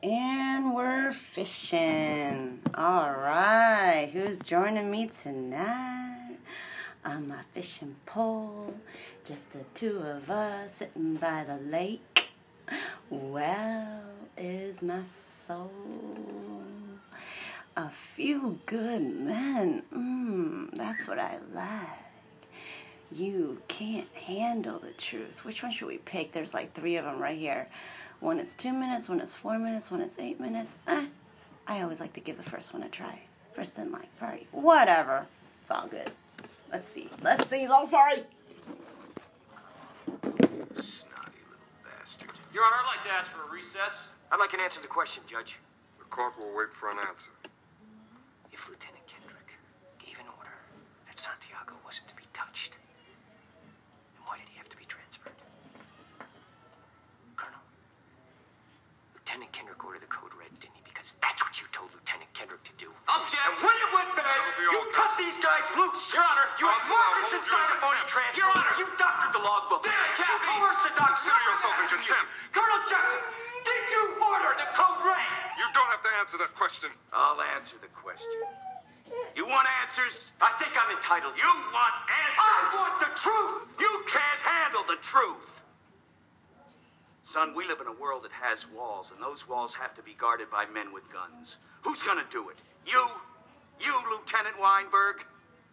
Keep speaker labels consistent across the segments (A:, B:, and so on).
A: And we're fishing. All right, who's joining me tonight? On my fishing pole, just the two of us sitting by the lake. Well, is my soul a few good men? That's what I like. You can't handle the truth. Which one should we pick? There's like 3 of them right here. One is 2 minutes, one is 4 minutes, one is 8 minutes. I always like to give the first one a try. First in like party. Whatever. It's all good. Let's see. I'm sorry.
B: Snotty little bastard.
C: Your Honor, I'd like to ask for a recess.
D: I'd like an answer to the question, Judge.
E: The court will wait for an answer.
D: If Lieutenant Kendrick gave an order that Santiago wasn't to be touched, then why did he have to be transferred? Colonel, Lieutenant Kendrick ordered the code red, didn't he? Because that's what you told Lieutenant Kendrick to do.
C: Object!
D: And when it went bad, you cut these guys loose.
C: Your Honor,
D: You had Marcus inside a phony transfer.
C: Your Honor.
D: You doctored the logbook.
C: Damn it,
D: You
C: Captain.
D: coerced the doctor.
E: Consider yourself in contempt.
D: Colonel Jessup, did you order the code red?
E: You don't have to answer that question.
B: I'll answer the question. You want answers?
D: I think I'm entitled.
B: You want answers?
D: I want the truth.
B: You can't handle the truth. Son, we live in a world that has walls, and those walls have to be guarded by men with guns. Who's gonna do it? You? You, Lieutenant Weinberg?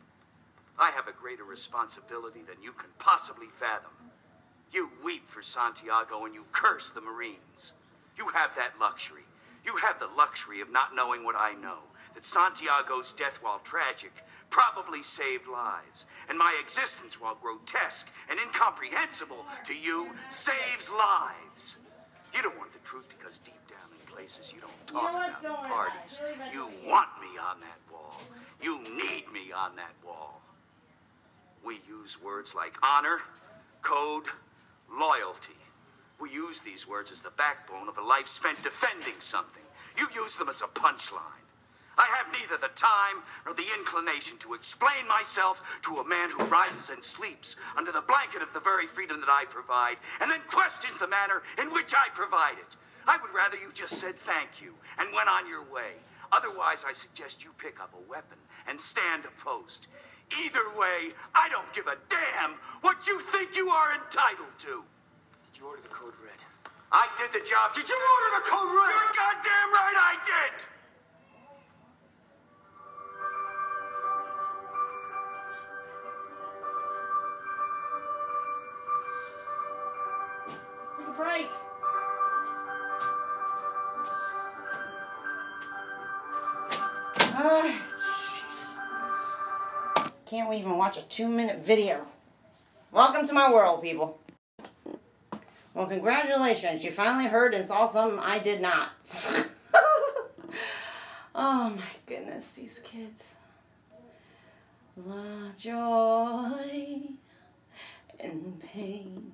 B: I have a greater responsibility than you can possibly fathom. You weep for Santiago and you curse the Marines. You have that luxury. You have the luxury of not knowing what I know. That Santiago's death, while tragic, probably saved lives. And my existence, while grotesque and incomprehensible to you, saves lives. You don't want the truth because deep down in places you don't talk about in parties. You want me on that wall. You need me on that wall. We use words like honor, code, loyalty. We use these words as the backbone of a life spent defending something. You use them as a punchline. I have neither the time nor the inclination to explain myself to a man who rises and sleeps under the blanket of the very freedom that I provide, and then questions the manner in which I provide it. I would rather you just said thank you and went on your way. Otherwise, I suggest you pick up a weapon and stand a post. Either way, I don't give a damn what you think you are entitled to.
D: Did you order the code red?
B: I did the job.
D: Did you order the code red?
B: You're goddamn right I did!
A: Take a break. Can't even watch a 2-minute video. Welcome to my world, people. Well, congratulations. You finally heard and saw something I did not. Oh my goodness, these kids. La joy and pain,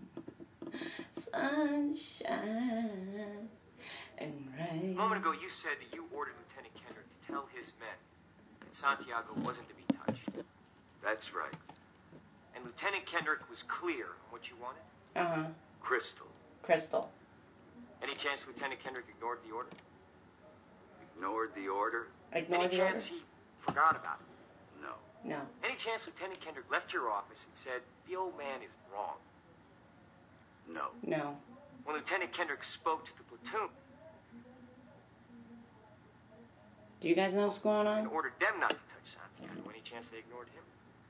A: sunshine and rain.
D: A moment ago, you said that you ordered Lieutenant Kendrick to tell his men that Santiago wasn't to be touched.
B: That's right.
D: And Lieutenant Kendrick was clear on what you wanted?
A: Uh-huh.
B: Crystal.
A: Crystal.
D: Any chance Lieutenant Kendrick ignored the order?
B: Ignored the order?
A: Ignore
D: Any
A: the
D: chance
A: order?
D: he forgot about it?
B: No.
A: No.
D: Any chance Lieutenant Kendrick left your office and said, the old man is wrong?
B: No.
A: No.
D: When Lieutenant Kendrick spoke to the platoon
A: Do you guys know what's going
D: and
A: on?
D: ordered them not to touch Santiago, any chance they ignored him?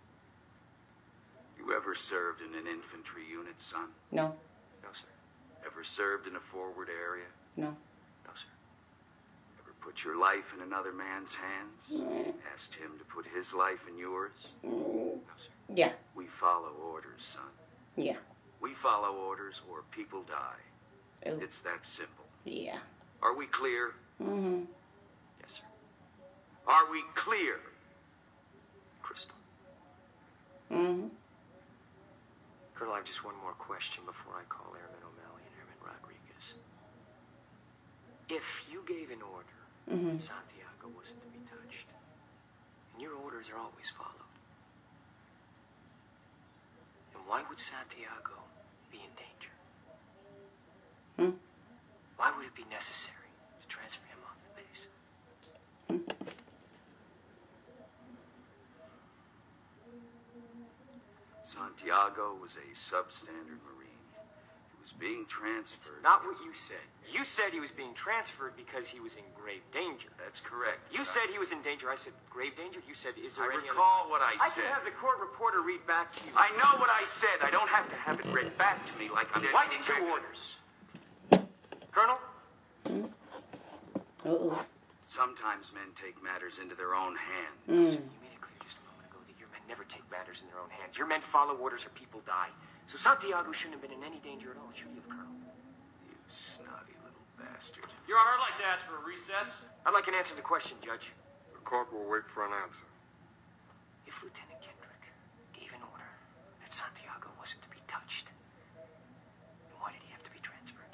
B: You ever served in an infantry unit, son?
A: No.
D: No, sir.
B: Ever served in a forward area?
A: No.
D: No, sir.
B: Ever put your life in another man's hands? Asked him to put his life in yours?
D: No, sir.
A: Yeah.
B: We follow orders, son.
A: Yeah.
B: We follow orders or people die.
A: Ooh.
B: It's that simple.
A: Yeah.
B: Are we clear?
A: Mm-hmm.
D: Yes, sir.
B: Are we clear? Crystal.
A: Mm-hmm.
D: Colonel, I have just one more question before I call Airman O'Malley and Airman Rodriguez. If you gave an order that Santiago wasn't to be touched, and your orders are always followed, then why would Santiago be in danger?
A: Hmm?
D: Why would it be necessary to transfer him off the base.
B: Santiago was a substandard Marine. He was being transferred.
F: Not what you said. You said he was being transferred because he was in grave danger.
B: That's correct.
F: You said he was in danger. I said grave danger. You said, is there
B: I
F: any
B: recall what I
F: I
B: said.
F: can have the court reporter read back to you.
B: I know what I said. I don't have to have it read back to me like I'm
F: Like
B: reading
F: two
B: back-
F: orders. Colonel?
A: Uh-oh.
B: Sometimes men take matters into their own hands.
F: You made it clear just a moment ago that your men never take matters in their own hands. Your men follow orders or people die. So Santiago shouldn't have been in any danger at all, should he have, Colonel?
B: You snotty little bastard.
C: Your Honor, I'd like to ask for a recess.
F: I'd like an answer to the question, Judge.
E: The court will wait for an answer.
D: If Lieutenant Kendrick gave an order that Santiago wasn't to be touched, then why did he have to be transferred?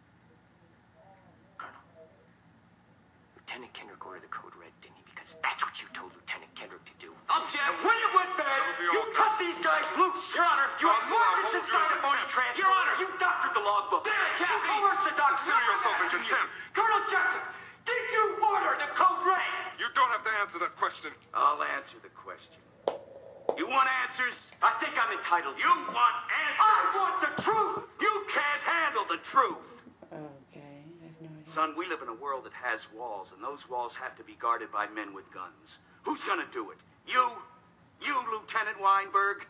F: Colonel, Lieutenant Kendrick ordered the code red, didn't he? Because that's what you told Lieutenant Kendrick to do.
B: Object!
F: And when it went bad,
E: That'll be
F: you
E: all,
F: cut
E: Judge.
F: these guys loose.
C: Your Honor,
F: You had
E: Counsel,
F: Marcus
E: I'll
F: inside
E: hold
F: a
E: you
F: phony
E: in
F: transfer.
C: Your Honor.
F: You doctored the logbook.
C: Damn it,
F: You
C: Captain.
F: coerced the doc.
E: Consider yourself in contempt.
F: Colonel Jessup, did you order the code red?
E: You don't have to answer that question.
B: I'll answer the question. You want answers?
F: I think I'm entitled.
B: You want answers?
F: I want the truth.
B: You can't handle the truth.
A: Okay, I have no idea.
B: Son, we live in a world that has walls, and those walls have to be guarded by men with guns. Who's gonna do it? You? You, Lieutenant Weinberg?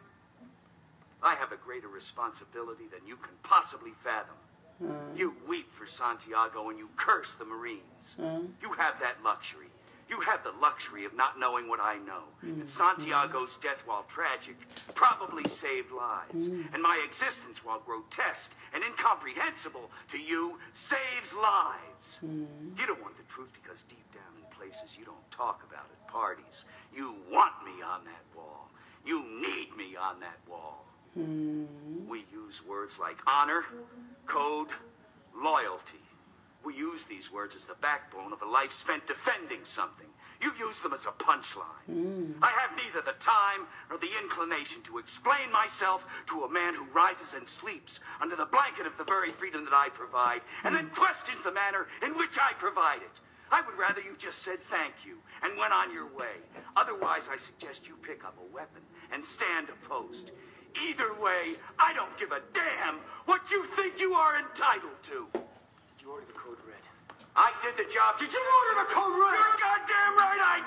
B: I have a greater responsibility than you can possibly fathom. You weep for Santiago and you curse the Marines. You have that luxury. You have the luxury of not knowing what I know. That Santiago's death, while tragic, probably saved lives. And my existence, while grotesque and incomprehensible to you, saves lives. You don't want the truth because deep down in places you don't talk about at parties, you want me on that wall. You need me on that wall. We use words like honor, code, loyalty. We use these words as the backbone of a life spent defending something. You use them as a punchline. I have neither the time nor the inclination to explain myself to a man who rises and sleeps under the blanket of the very freedom that I provide, and then questions the manner in which I provide it. I would rather you just said thank you and went on your way. Otherwise, I suggest you pick up a weapon and stand a post. Either way, I don't give a damn what you think you are entitled to.
F: Did you order the code red?
B: I did the job.
F: Did you order the code red?
B: You're goddamn right I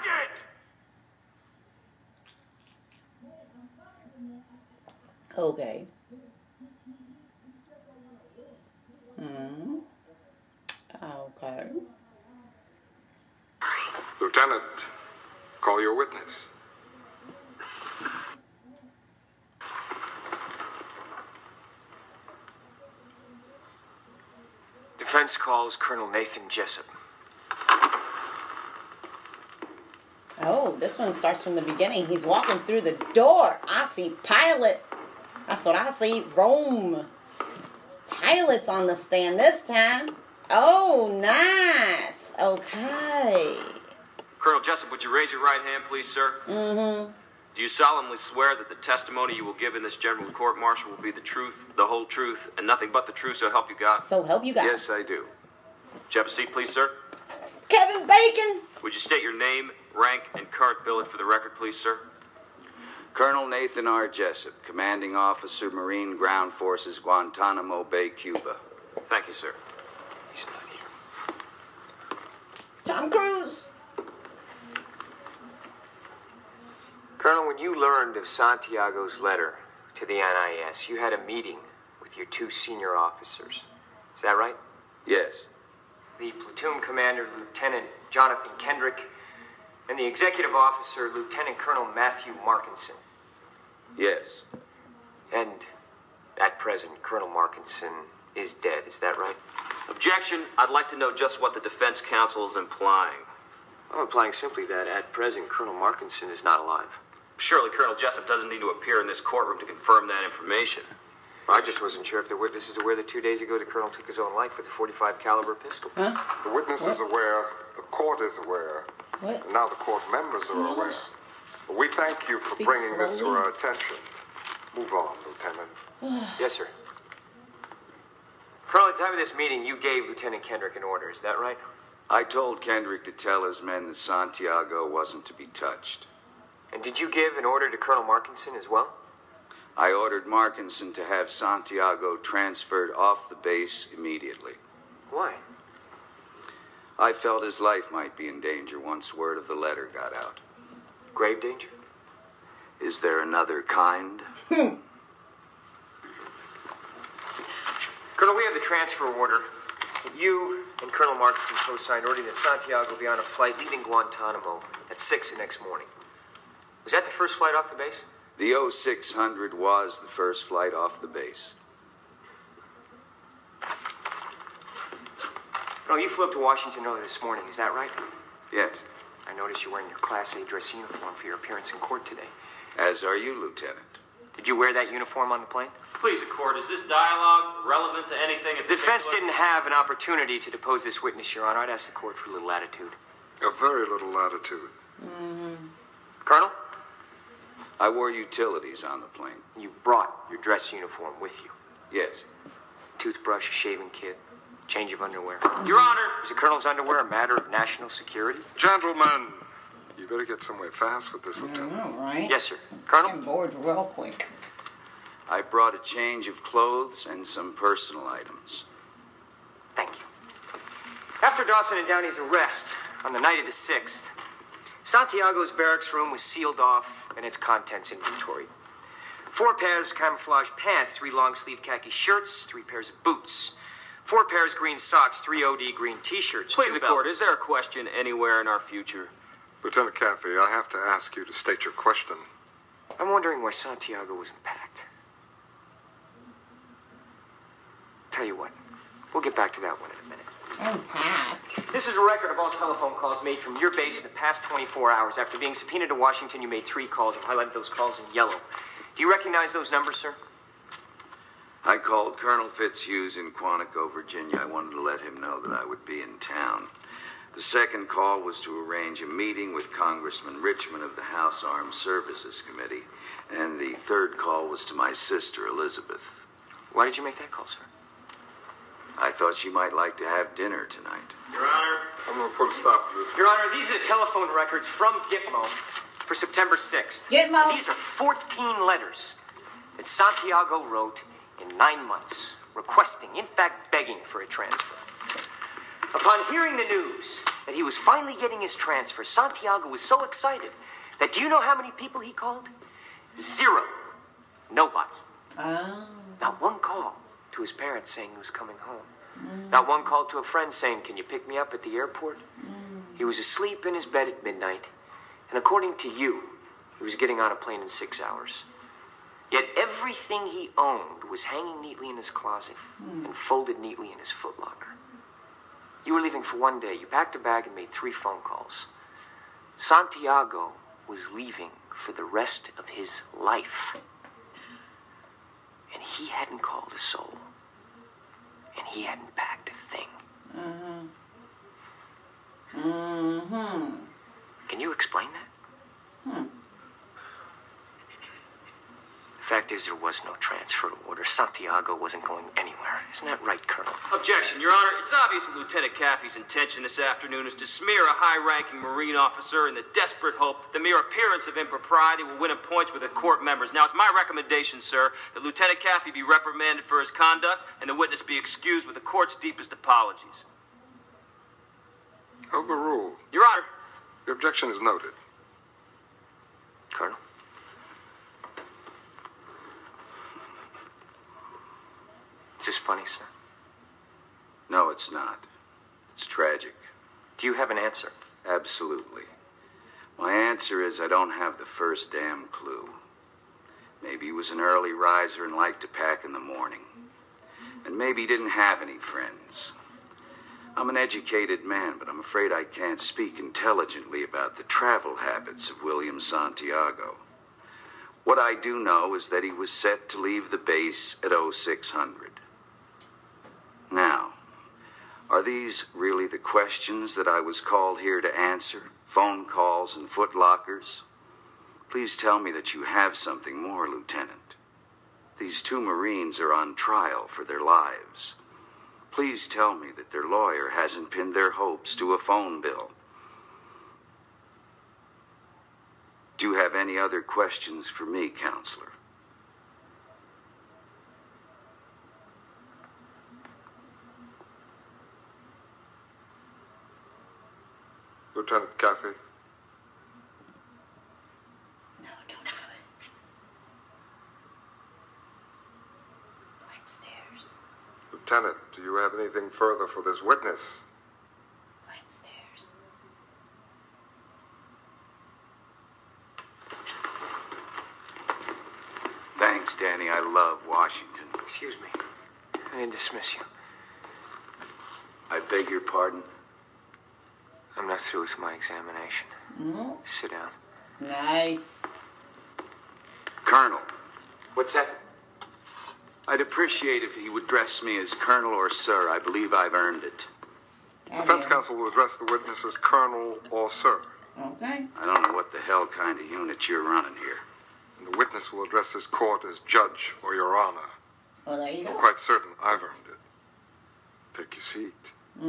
B: did.
A: Okay. Okay.
E: Lieutenant, call your witness.
F: Defense calls Colonel Nathan Jessup.
A: Oh, this one starts from the beginning. He's walking through the door. I see pilot. That's what I see. Rome. Pilot's on the stand this time. Oh, nice. Okay.
C: Colonel Jessup, would you raise your right hand, please, sir?
A: Mm-hmm.
C: Do you solemnly swear that the testimony you will give in this general court-martial will be the truth, the whole truth, and nothing but the truth, so help you God?
A: So help you guys.
B: Yes, I do.
C: Would you have a seat, please, sir?
A: Kevin Bacon.
C: Would you state your name, rank, and current billet for the record, please, sir?
B: Colonel Nathan R. Jessup, Commanding Officer, Marine Ground Forces, Guantanamo Bay, Cuba.
C: Thank you, sir.
F: He's not here.
A: Tom Cruise.
F: Colonel, when you learned of Santiago's letter to the NIS, you had a meeting with your two senior officers. Is that right?
B: Yes.
F: The platoon commander, Lieutenant Jonathan Kendrick, and the executive officer, Lieutenant Colonel Matthew Markinson.
B: Yes.
F: And at present, Colonel Markinson is dead. Is that right?
C: Objection. I'd like to know just what the defense counsel is implying.
F: I'm implying simply that at present, Colonel Markinson is not alive.
C: Surely Colonel Jessup doesn't need to appear in this courtroom to confirm that information.
F: I just wasn't sure if the witnesses are aware that 2 days ago the colonel took his own life with a .45 caliber pistol.
A: Huh?
E: The witness is aware, the court is aware,
A: What?
E: and now the court members are aware. We thank you for
A: Speak
E: bringing this to
A: slowly.
E: our attention. Move on, Lieutenant.
F: Yes, sir. Colonel, at the time of this meeting, you gave Lieutenant Kendrick an order. Is that right?
B: I told Kendrick to tell his men that Santiago wasn't to be touched.
F: And did you give an order to Colonel Markinson as well?
B: I ordered Markinson to have Santiago transferred off the base immediately.
F: Why?
B: I felt his life might be in danger once word of the letter got out.
F: Grave danger?
B: Is there another kind?
F: Colonel, we have the transfer order. You and Colonel Markinson co-signed ordering that Santiago be on a flight leaving Guantanamo at 6 the next morning. Was that the first flight off the base?
B: The 0600 was the first flight off the base.
F: Colonel, you flew up to Washington early this morning, is that right?
B: Yes.
F: I noticed you're wearing your Class A dress uniform for your appearance in court today.
B: As are you, Lieutenant.
F: Did you wear that uniform on the plane?
C: Please, the court, is this dialogue relevant to anything in
F: The defense
C: particular?
F: didn't have an opportunity to depose this witness, Your Honor. I'd ask the court for a little latitude.
E: A very little latitude.
F: Colonel,
B: I wore utilities on the plane.
F: you brought your dress uniform with you.
B: Yes.
F: Toothbrush, a shaving kit, change of underwear.
C: Your Honor!
F: Is the Colonel's underwear a matter of national security?
E: Gentlemen, you better get somewhere fast with this,
A: I
E: Lieutenant.
A: know, right?
F: Yes, sir. Colonel?
A: I'm bored real quick.
B: I brought a change of clothes and some personal items.
F: Thank you. After Dawson and Downey's arrest on the night of the 6th, Santiago's barracks room was sealed off and its contents inventoried. 4 pairs of camouflage pants, 3 long-sleeve khaki shirts, 3 pairs of boots, 4 pairs green socks, 3 OD green t-shirts.
C: Please,
F: 2
C: the court,
F: belts.
C: is there a question anywhere in our future?
E: Lieutenant Caffey, I have to ask you to state your question.
F: I'm wondering why Santiago wasn't packed. Tell you what, we'll get back to that one in a minute.
A: Unpacked.
F: This is a record of all telephone calls made from your base in the past 24 hours. After being subpoenaed to Washington, you made 3 calls. I've highlighted those calls in yellow. Do you recognize those numbers, sir?
B: I called Colonel Fitzhughes in Quantico, Virginia. I wanted to let him know that I would be in town. The second call was to arrange a meeting with Congressman Richmond of the House Armed Services Committee. And the third call was to my sister, Elizabeth.
F: Why did you make that call, sir?
B: I thought she might like to have dinner tonight.
C: Your Honor?
E: I'm going to put a stop to this.
F: Your Honor, these are the telephone records from Gitmo for September 6th.
A: Gitmo?
F: These are 14 letters that Santiago wrote in 9 months, requesting, in fact, begging for a transfer. Upon hearing the news that he was finally getting his transfer, Santiago was so excited that do you know how many people he called? 0. Nobody.
A: Oh.
F: Not one call to his parents saying he was coming home. Not one call to a friend saying, can you pick me up at the airport? He was asleep in his bed at midnight, and according to you, he was getting on a plane in 6 hours. Yet everything he owned was hanging neatly in his closet and folded neatly in his footlocker. You were leaving for 1 day. You packed a bag and made 3 phone calls. Santiago was leaving for the rest of his life. And he hadn't called a soul. And he hadn't packed a thing. Can you explain that? The fact is, there was no transfer order. Santiago wasn't going anywhere. Isn't that right, Colonel?
C: Objection, Your Honor. It's obvious that Lieutenant Caffey's intention this afternoon is to smear a high-ranking Marine officer in the desperate hope that the mere appearance of impropriety will win him points with the court members. Now, it's my recommendation, sir, that Lieutenant Caffey be reprimanded for his conduct and the witness be excused with the court's deepest apologies.
E: Overruled.
C: Your Honor.
E: Your objection is noted.
F: Colonel? Is this funny, sir?
B: No, it's not. It's tragic.
F: Do you have an answer?
B: Absolutely. My answer is I don't have the first damn clue. Maybe he was an early riser and liked to pack in the morning. And maybe he didn't have any friends. I'm an educated man, but I'm afraid I can't speak intelligently about the travel habits of William Santiago. What I do know is that he was set to leave the base at 0600. Now, are these really the questions that I was called here to answer? Phone calls and footlockers? Please tell me that you have something more, Lieutenant. These 2 Marines are on trial for their lives. Please tell me that their lawyer hasn't pinned their hopes to a phone bill. Do you have any other questions for me, counselor?
E: Lieutenant Caffey?
A: No, don't do it. Flight stairs.
E: Lieutenant, do you have anything further for this witness?
A: Flight stairs.
B: Thanks, Danny. I love Washington.
F: Excuse me. I didn't dismiss you.
B: I beg your pardon?
F: I'm not through with my examination. Sit down.
A: Nice.
B: Colonel,
F: What's that?
B: I'd appreciate if he would address me as Colonel or Sir. I believe I've earned it.
E: Defense counsel will address the witness as Colonel or Sir.
A: Okay.
B: I don't know what the hell kind of unit you're running here.
E: And the witness will address this court as Judge or Your Honor.
A: Well, there you
E: I'm
A: go.
E: quite certain I've earned it. Take your seat.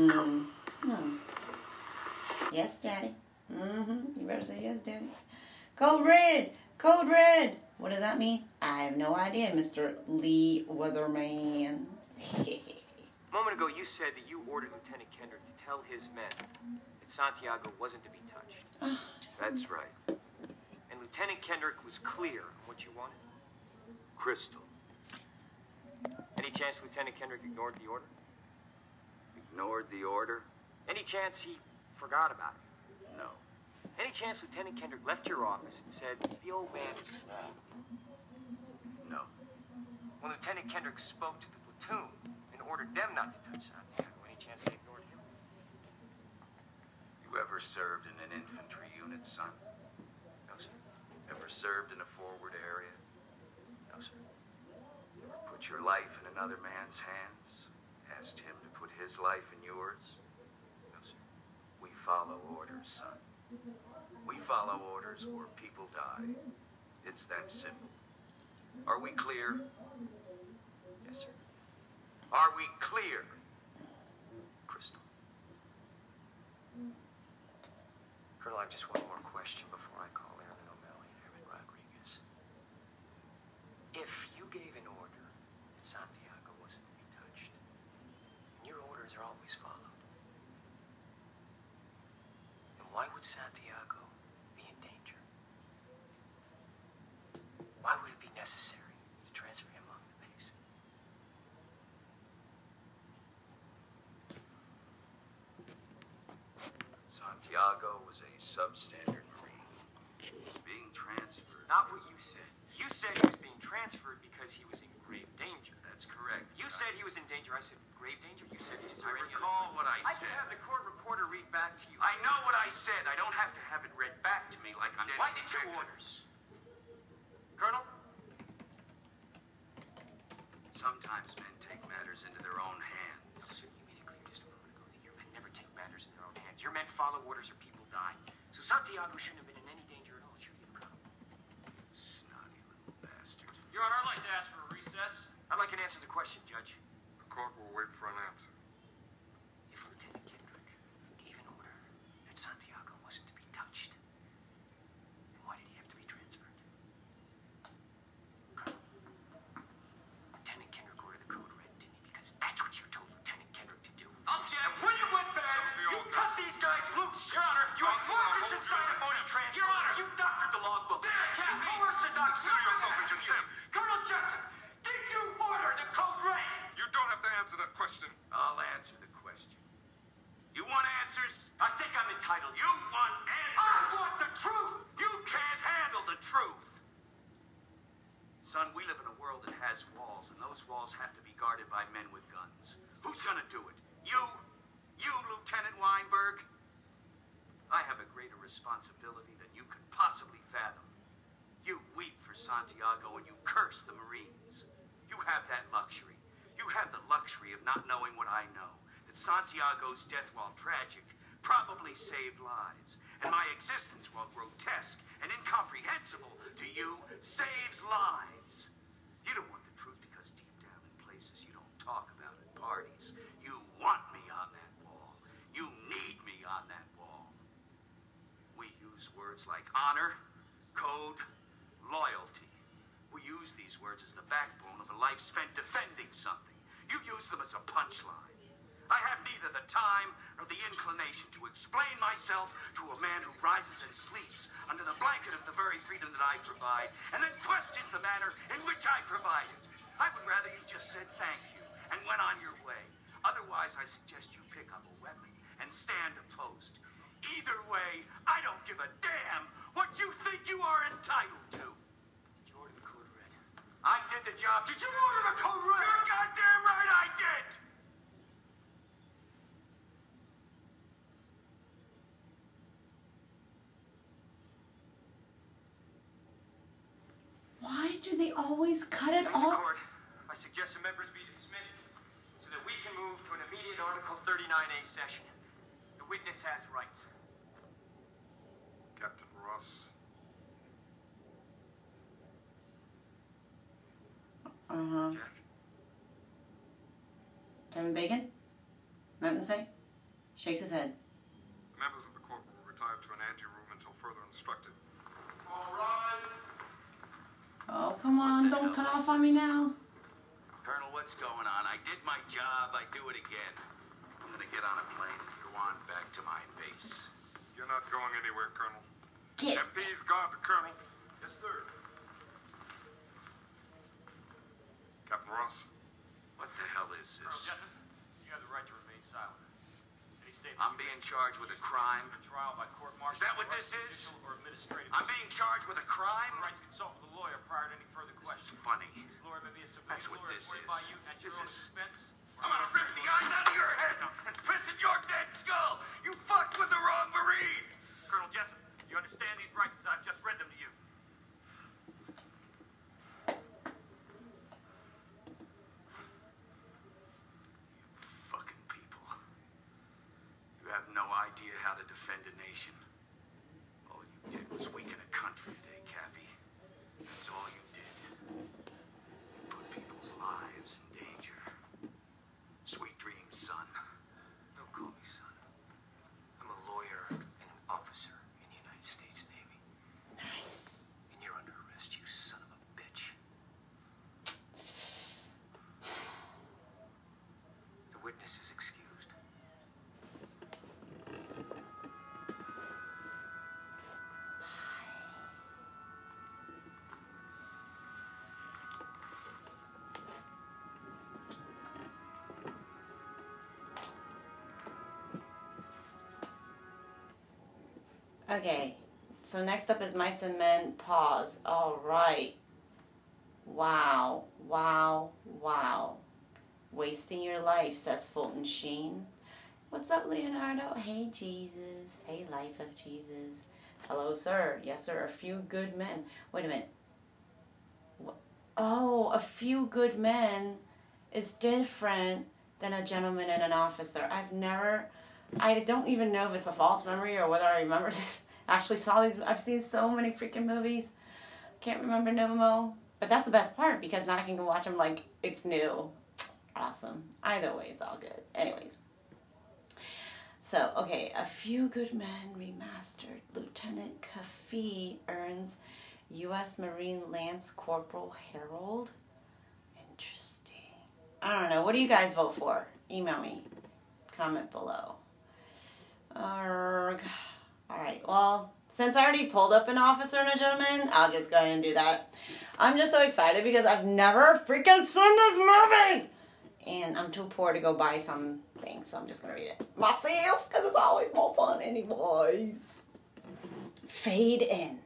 A: Yes, Daddy. You better say yes, Daddy. Code Red. Code Red. What does that mean? I have no idea, Mr. Lee Weatherman.
F: A moment ago, you said that you ordered Lieutenant Kendrick to tell his men that Santiago wasn't to be touched.
B: That's right.
F: And Lieutenant Kendrick was clear on what you wanted.
B: Crystal.
F: Any chance Lieutenant Kendrick ignored the order?
B: Ignored the order?
F: Any chance he forgot about it?
B: No.
F: Any chance Lieutenant Kendrick left your office and said, the old man is wrong?
B: No.
F: When Lieutenant Kendrick spoke to the platoon and ordered them not to touch Santiago, any chance they ignored him?
B: You ever served in an infantry unit, son?
F: No, sir.
B: Ever served in a forward area? No, sir. Ever put your life in another man's hands? Asked him to put his life in yours?
F: No, sir.
B: We follow orders, son. We follow orders or people die. It's that simple. Are we clear?
F: Yes, sir.
B: Are we clear? Crystal.
F: Colonel, I have just one more question before I call Airman O'Malley and Airman Rodriguez. If you gave an order that Santiago wasn't to be touched, and your orders are always followed, then why would Santiago be in danger? Why would it be necessary to transfer him off the base?
B: Santiago was a substandard Marine. Being transferred.
F: Not what you said. You said he was being transferred because he was in grave danger.
B: That's correct.
F: You said he was in danger. I said grave danger. You said is
B: I
F: there any
B: recall what I
F: I
B: said.
F: can have the court reporter read back to you.
B: I know what I said. I don't have to have it read back to me like I'm...
F: Why did you orders? Colonel?
B: Sometimes men take matters into their own hands.
F: Sir, you made it clear just a moment ago that your men never take matters in their own hands. Your men follow orders or people die. So Santiago shouldn't have been in any danger at all, should he, Colonel?
B: Snotty little bastard.
C: Your Honor, I'd like to ask for a recess.
F: I'd like an answer to the question, Judge.
E: The court will wait for an answer.
F: If Lieutenant Kendrick gave an order that Santiago wasn't to be touched, then why did he have to be transferred? Colonel, Lieutenant Kendrick ordered the code red, didn't he? Because that's what you told Lieutenant Kendrick to do.
C: Object! And when it went bad, you cut these guys loose! Your Honor, you ignored this inside a phony transfer! Your Honor, you doctored the logbook! Then I can't coerce the doctor!
E: Consider yourself in contempt.
C: Colonel Jessup, did you order the code red?
E: You don't have to answer that question.
B: I'll answer the question. You want answers?
C: I think I'm entitled.
B: You want
C: I
B: answers?
C: want the truth!
B: You can't handle the truth. Son, we live in a world that has walls, and those walls have to be guarded by men with guns. Who's gonna do it? You? You, Lieutenant Weinberg? I have a greater responsibility than you could possibly fathom. You weep for Santiago and you curse the Marines. You have that luxury. You have the luxury of not knowing what I know. That Santiago's death, while tragic, probably saved lives. And my existence, while grotesque and incomprehensible to you, saves lives. You don't want the truth because deep down in places you don't talk about at parties, you words like honor, code, loyalty. We use these words as the backbone of a life spent defending something. You use them as a punchline. I have neither the time nor the inclination to explain myself to a man who rises and sleeps under the blanket of the very freedom that I provide, and then questions the manner in which I provide it. I would rather you just said thank you and went on your way. Otherwise, I suggest you pick up a weapon and stand a post. Either way, I don't give a damn what you think you are entitled to.
D: Did you order the code red?
B: I did the job. Did you order the code red? You're goddamn right I did!
A: Why do they always cut it
D: Please,
A: off?
D: Court, I suggest the members be dismissed so that we can move to an immediate Article 39A session. The witness has rights.
E: Captain Ross.
D: Jack.
A: Kevin Bacon? Nothing to say? Shakes his head.
E: Members of the court will retire to an anteroom until further instructed.
B: All right.
A: Oh, come on, don't cut off on me now.
B: Colonel, what's going on? I did my job. I do it again. I'm gonna get on a plane and go on back to my base.
E: You're not going anywhere, Colonel.
A: Get.
E: MP's got the Colonel.
B: Yes, sir.
E: Captain Ross.
B: What the hell is
C: Colonel
B: this?
C: Jessup, you have the right to remain silent. Any statement
B: I'm being charged with a crime.
C: A trial by court martial.
B: Is that what this is?
C: Or administrative.
B: I'm being charged with a crime?
C: The right to consult with a lawyer prior to any further
B: This
C: questions.
B: is funny.
C: This lawyer may be a
B: That's
C: civilian
B: what
C: lawyer
B: this
C: appointed
B: is.
C: by you at your
B: This
C: own
B: is-
C: expense.
B: I'm gonna rip the eyes out of your head and piss at your dead skull! You fucked with the wrong Marine!
C: Colonel Jessup, do you understand these rights as I've just read them to you?
B: Fucking people. You have no idea how to defend a nation. All you did was weaken a country today, Kathy. That's all you did. Put people's lives in danger. Sweet dreams, son.
D: Don't call me son. I'm a lawyer and an officer in the United States Navy.
A: Nice.
D: And you're under arrest, you son of a bitch. The witness is excused.
A: Okay, so next up is Mice and Men Pause. All right. Wow, wow, wow. Wasting your life, says Fulton Sheen. What's up, Leonardo? Hey, Jesus. Hey, life of Jesus. Hello, sir. Yes, sir. A few good men. Wait a minute. What? Oh, a few good men is different than a gentleman and an officer. I don't even know if it's a false memory or whether I remember this. Actually saw these. I've seen so many freaking movies. Can't remember no more. But that's the best part because now I can go watch them like it's new. Awesome. Either way, it's all good. Anyways. So, okay. A Few Good Men remastered. Lieutenant Kafi earns U.S. Marine Lance Corporal Herald. Interesting. I don't know. What do you guys vote for? Email me. Comment below. Alright, well, since I already pulled up an officer and a gentleman, I'll just go ahead and do that. I'm just so excited because I've never freaking seen this movie! And I'm too poor to go buy something, so I'm just going to read it myself because it's always more fun anyways. Fade in.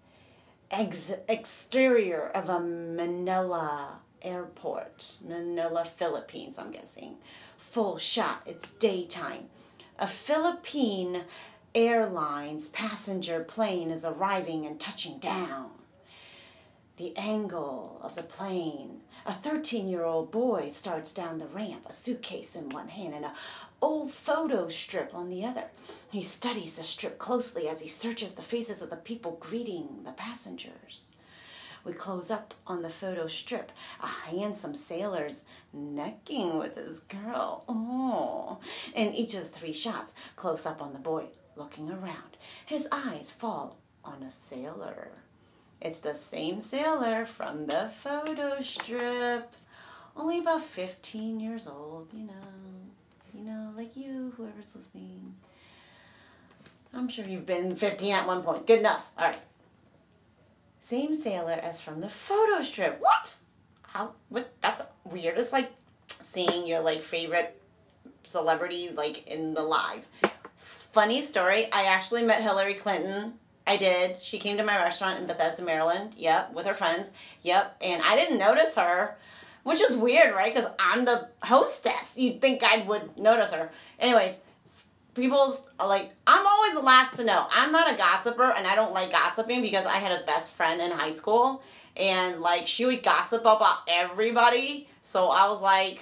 A: Exterior of a Manila airport. Manila, Philippines, I'm guessing. Full shot. It's daytime. A Philippine Airlines passenger plane is arriving and touching down. The angle of the plane. A 13-year-old boy starts down the ramp, a suitcase in one hand and an old photo strip on the other. He studies the strip closely as he searches the faces of the people greeting the passengers. We close up on the photo strip. A handsome sailor's necking with his girl. Oh. In each of the 3 shots, close up on the boy looking around. His eyes fall on a sailor. It's the same sailor from the photo strip. Only about 15 years old, you know, like you, whoever's listening. I'm sure you've been 15 at one point. Good enough. All right. Same sailor as from the photo strip. What? How? What? That's weird. It's like seeing your like favorite celebrity like in the live. Funny story. I actually met Hillary Clinton. I did. She came to my restaurant in Bethesda, Maryland. Yep, with her friends. Yep, and I didn't notice her, which is weird, right? Because I'm the hostess. You'd think I would notice her. Anyways. People's like, I'm always the last to know. I'm not a gossiper, and I don't like gossiping because I had a best friend in high school, and like she would gossip about everybody. So I was like,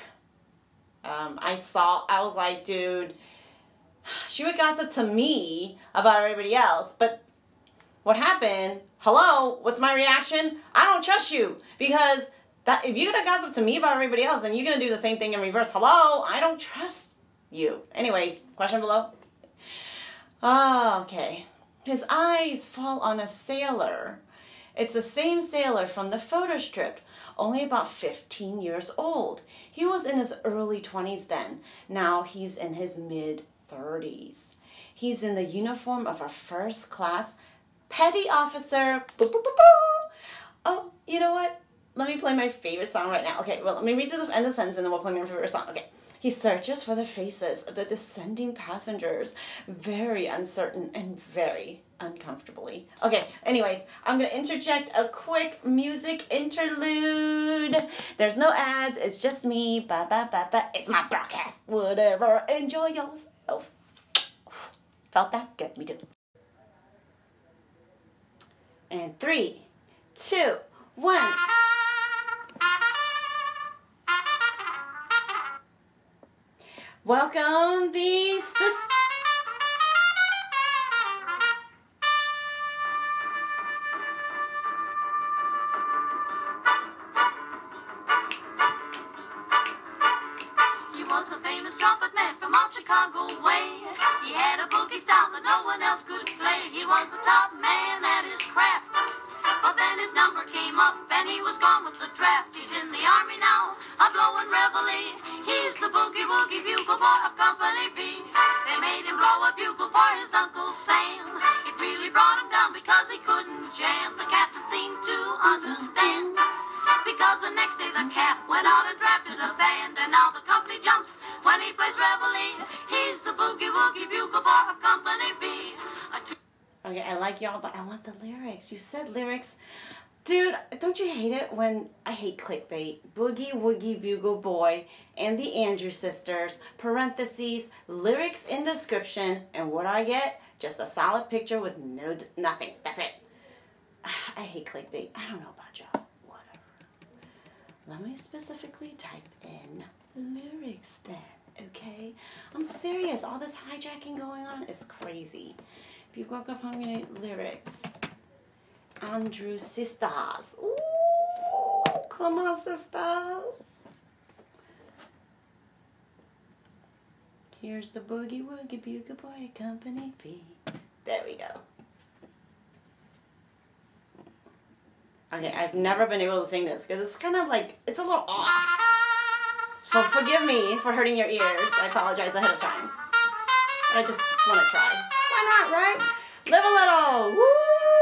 A: I was like, dude, she would gossip to me about everybody else. But what happened? Hello, what's my reaction? I don't trust you because that if you're gonna gossip to me about everybody else, then you're gonna do the same thing in reverse. Hello, I don't trust you. Anyways, question below. Okay. His eyes fall on a sailor. It's the same sailor from the photo strip, only about 15 years old. He was in his early 20s then. Now he's in his mid-30s. He's in the uniform of a first-class petty officer. Boo, boo, boo, boo. Oh, you know what? Let me play my favorite song right now. Okay, well, let me read to the end of the sentence and then we'll play my favorite song. Okay. He searches for the faces of the descending passengers, very uncertain and very uncomfortably. Okay, anyways, I'm going to interject a quick music interlude. There's no ads, it's just me. Ba ba ba ba. It's my broadcast. Whatever. Enjoy yourself. Felt that? Good, me too. And 3, 2, 1. Welcome the sisters.
G: He was a famous trumpet man from out Chicago way. He had a boogie style that no one else could play. He was the top man at his craft. But then his number came up and he was gone with the draft. He's in the army now, a blowing reveille. He's the boogie-woogie bugle boy of Company B. They made him blow a bugle for his Uncle Sam. It really brought him down because he couldn't jam. The captain seemed to understand, because the next day the cap went out and drafted a band. And now the company jumps when he plays reveille. He's the boogie-woogie bugle boy of Company B.
A: Okay, I like y'all, but I want the lyrics. You said lyrics. Dude, don't you hate it when I hate clickbait? Boogie Woogie Bugle Boy and the Andrews Sisters, parentheses, lyrics in description, and what I get? Just a solid picture with nothing. That's it. I hate clickbait. I don't know about y'all. Whatever. Let me specifically type in lyrics then, okay? I'm serious. All this hijacking going on is crazy. If you woke up hungry, lyrics. Andrews Sisters. Ooh, come on, sisters. Here's the Boogie Woogie Bugle Boy Company B. There we go. Okay, I've never been able to sing this because it's kind of like, it's a little off. So forgive me for hurting your ears. I apologize ahead of time. I just want to try. Why not, right? Live a little. Woo!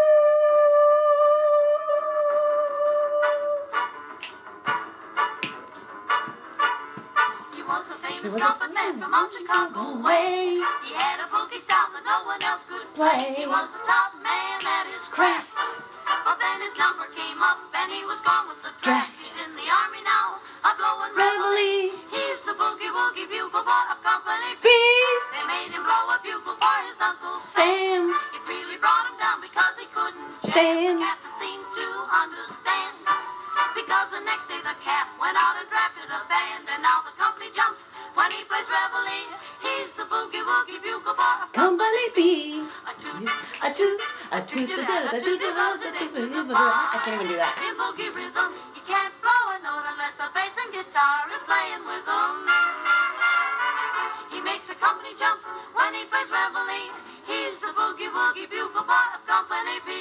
G: He was a trumpet man from out Chicago way. He had a boogie style that no one else could play. He was the top man at his craft. But then his number came up and he was gone with the draft. He's in the army now, a blowing reveille. He's the boogie woogie bugle boy of Company B. They made him blow a bugle for his Uncle Sam. It really brought him down because he couldn't stand. The captain seemed to understand, because the next day the cap went out and drafted a band. And now the company jumps when he plays reveille. He's the boogie woogie bugle boy of Company B. I can't
A: even do that.
G: In boogie rhythm, he can't blow a note unless the bass and guitar is playing with him. He makes a company jump when he plays reveille. He's the boogie woogie bugle boy of Company B.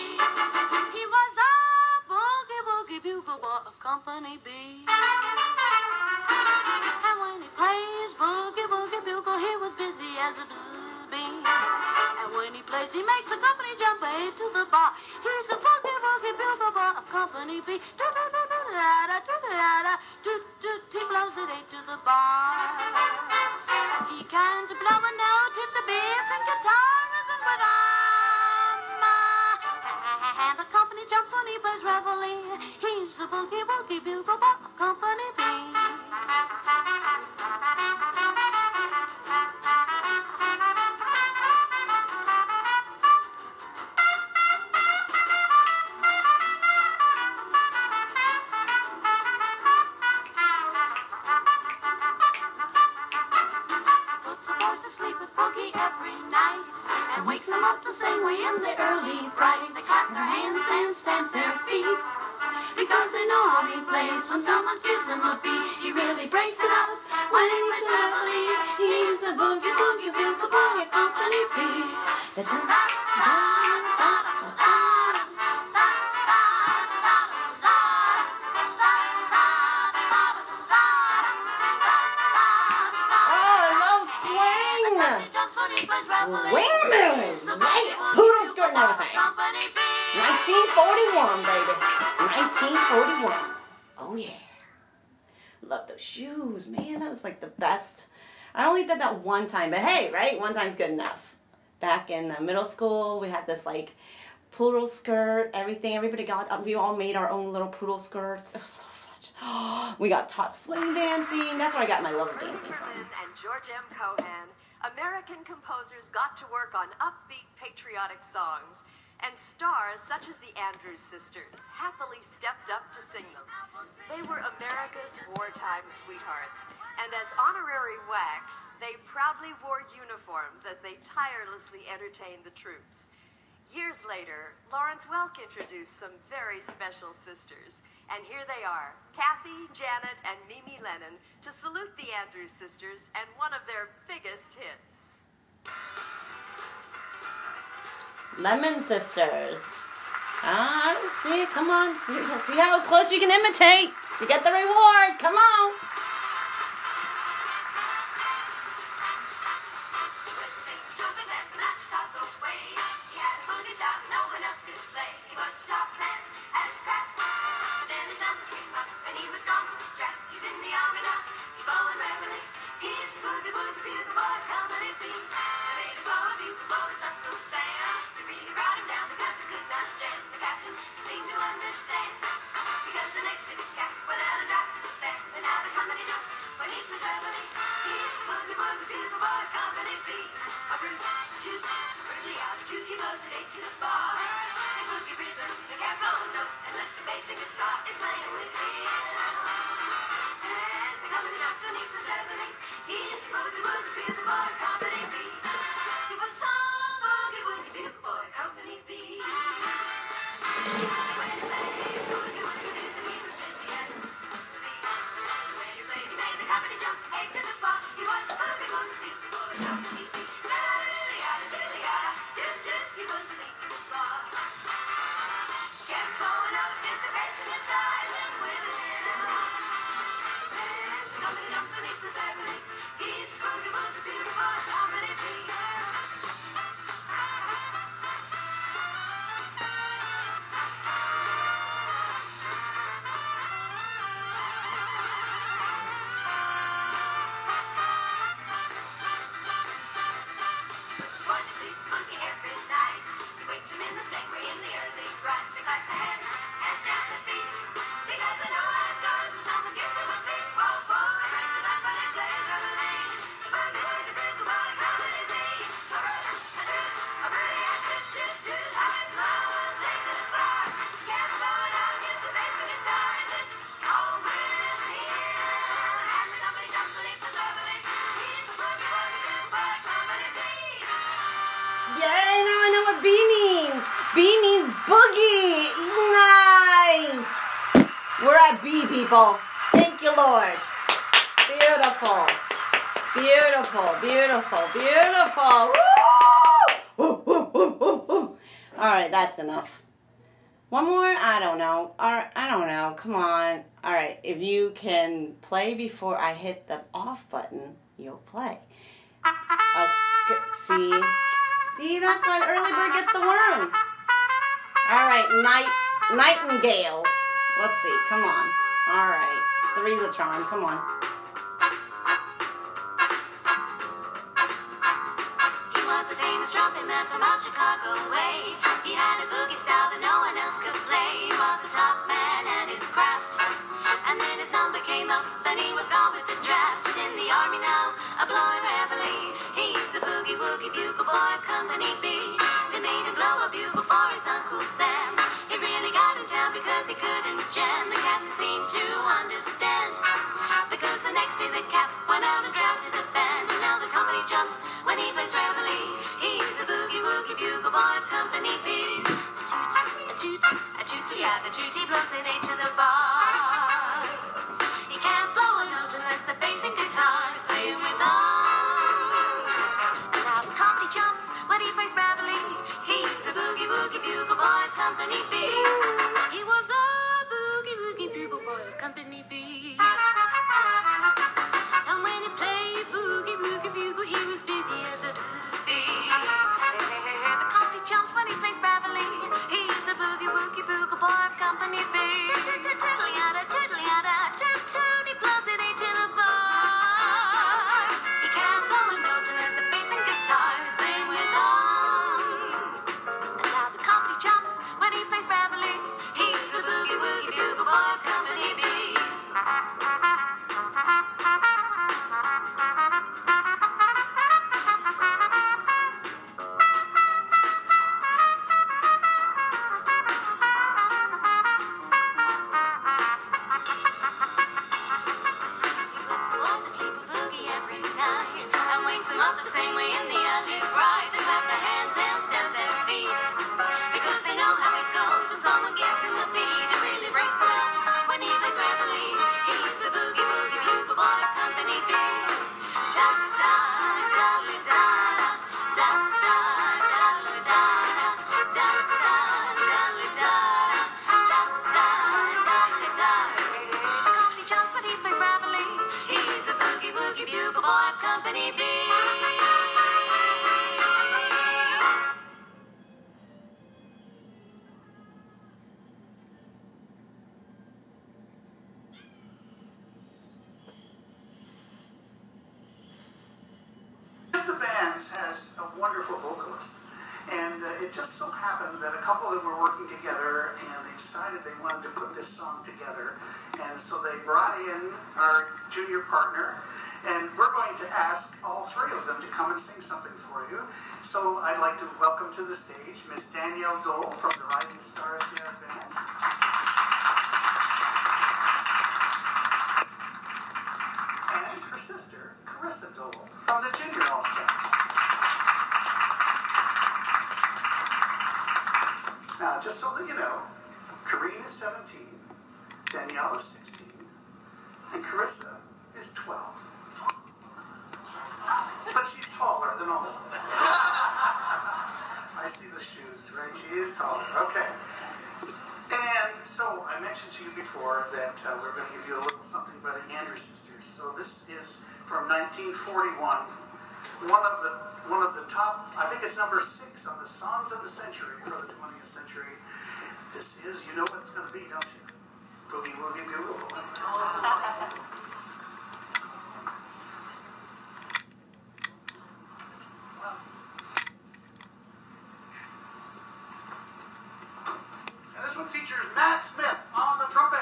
G: Company B. And when he plays boogie woogie bugle, he was busy as a bzzz bee. And when he plays, he makes the company jump A to the bar. He's a boogie woogie bugle boy of Company B. He blows it A to the bar. He can't blow a note if the bass and guitar isn't with and the company jumps when he plays reveille. He's a boogie woogie bugle boy of Company B. Wakes them up the same way in the early bright. They clap their hands and stamp their feet because they know how he plays. When someone gives him a beat, he really breaks it up. When he plays reveille, he's a boogie woogie bugle boy at Company B. Da da da da da da.
A: Swing moon! Yeah! Poodle skirt and everything. 1941, baby. 1941. Oh, yeah. Love those shoes. Man, that was like the best. I only did that one time, but hey, right? One time's good enough. Back in middle school, we had this like poodle skirt, everything. Everybody got, we all made our own little poodle skirts. It was so fun. We got taught swing dancing. That's where I got my love of dancing from.
H: And George M. Cohan, American composers got to work on upbeat patriotic songs, and stars such as the Andrews Sisters happily stepped up to sing them. They were America's wartime sweethearts, and as honorary WACs, they proudly wore uniforms as they tirelessly entertained the troops. Years later, Lawrence Welk introduced some very special sisters, and here they are, Kathy, Janet, and Mimi Lennon, to salute the Andrews Sisters and one of their biggest hits.
A: Lemon Sisters. See, come on. See how close you can imitate. You get the reward. Come on. People. Thank you, Lord. Beautiful. Beautiful, beautiful, beautiful. Woo! Woo, woo, woo, woo, woo. All right, that's enough. One more? I don't know. I don't know. Come on. All right. If you can play before I hit the off button, you'll play. Okay. See, that's why the early bird gets the worm. All right. Nightingales. Let's see. Come on. All right. Three's a charm. Come on.
G: He was a famous trumpet man from out Chicago way. He had a boogie style that no one else could play. He was a top man at his craft. And then his number came up and he was gone with the draft. He's in the army now, a blowing reveille. He's a boogie woogie bugle boy of Company B. They made him blow a bugle for his Uncle Sam. It really got him down because he couldn't jam. The captain seemed to understand, because the next day the cap went out and drafted the band. And now the company jumps when he plays reveille. He's the boogie woogie bugle boy of Company B. A toot, a toot, a toot, yeah, the toot, he blows it eight to the bar. He can't blow a note unless the bass and guitar is playing with them. And now the company jumps when he plays reveille. He's the boogie woogie bugle boy of Company B. He was a boogie woogie bugle boy of Company B. And when he played boogie woogie bugle, he was busy as a bee. The company jumps when he plays reveille. He's a boogie woogie bugle boy of Company B. Tiddly-yada, tiddly-yada, toot-toot, he blows it eight to the bar. He can't blow a note unless the bass and guitar is playing with them. And now the company jumps when he plays reveille. He's the boogie woogie bugle boy of Company B.
I: Has a wonderful vocalist, and it just so happened that a couple that were working together, and they decided they wanted to put this song together, and so they brought in our junior partner, and we're going to ask all three of them to come and sing something for you. So I'd like to welcome to the stage Miss Danielle Dole from the Rising Stars Jazz Band. And her sister, Carissa Dole, from the Junior All-Stars. Now, just so that you know, Karine is 17, Danielle is 16, and Carissa is 12. But she's taller than all of them. I see the shoes, right? She is taller. Okay. And so I mentioned to you before that we're going to give you a little something by the Andrews Sisters. So this is from 1941. One of the top, I think it's number 6 on the Songs of the Century for the 20th century. This is, you know what it's going to be, don't you? Boogie Woogie Bugle. And this one features Matt Smith on the trumpet.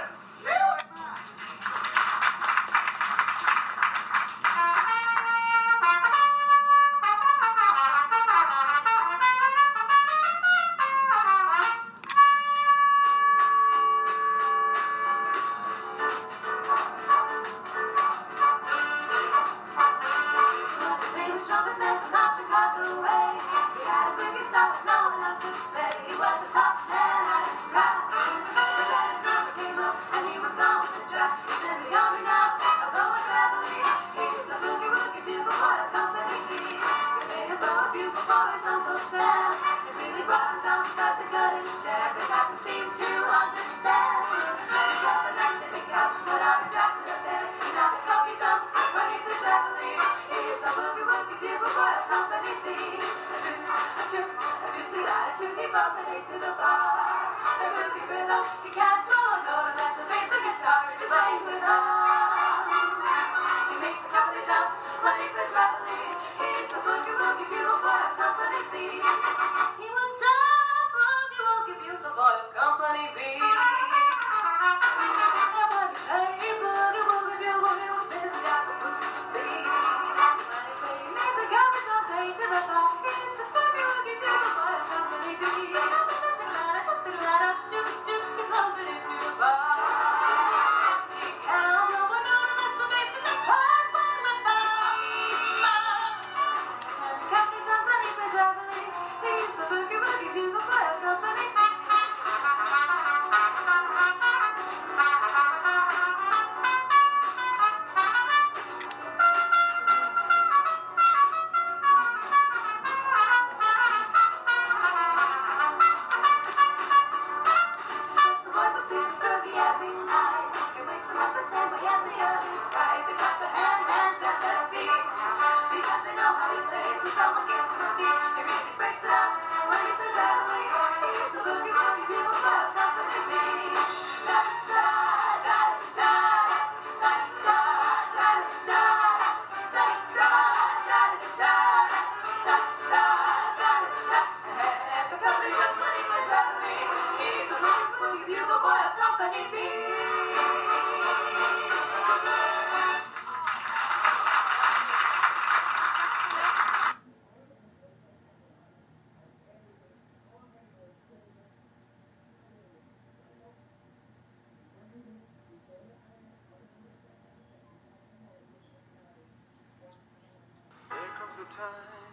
J: A time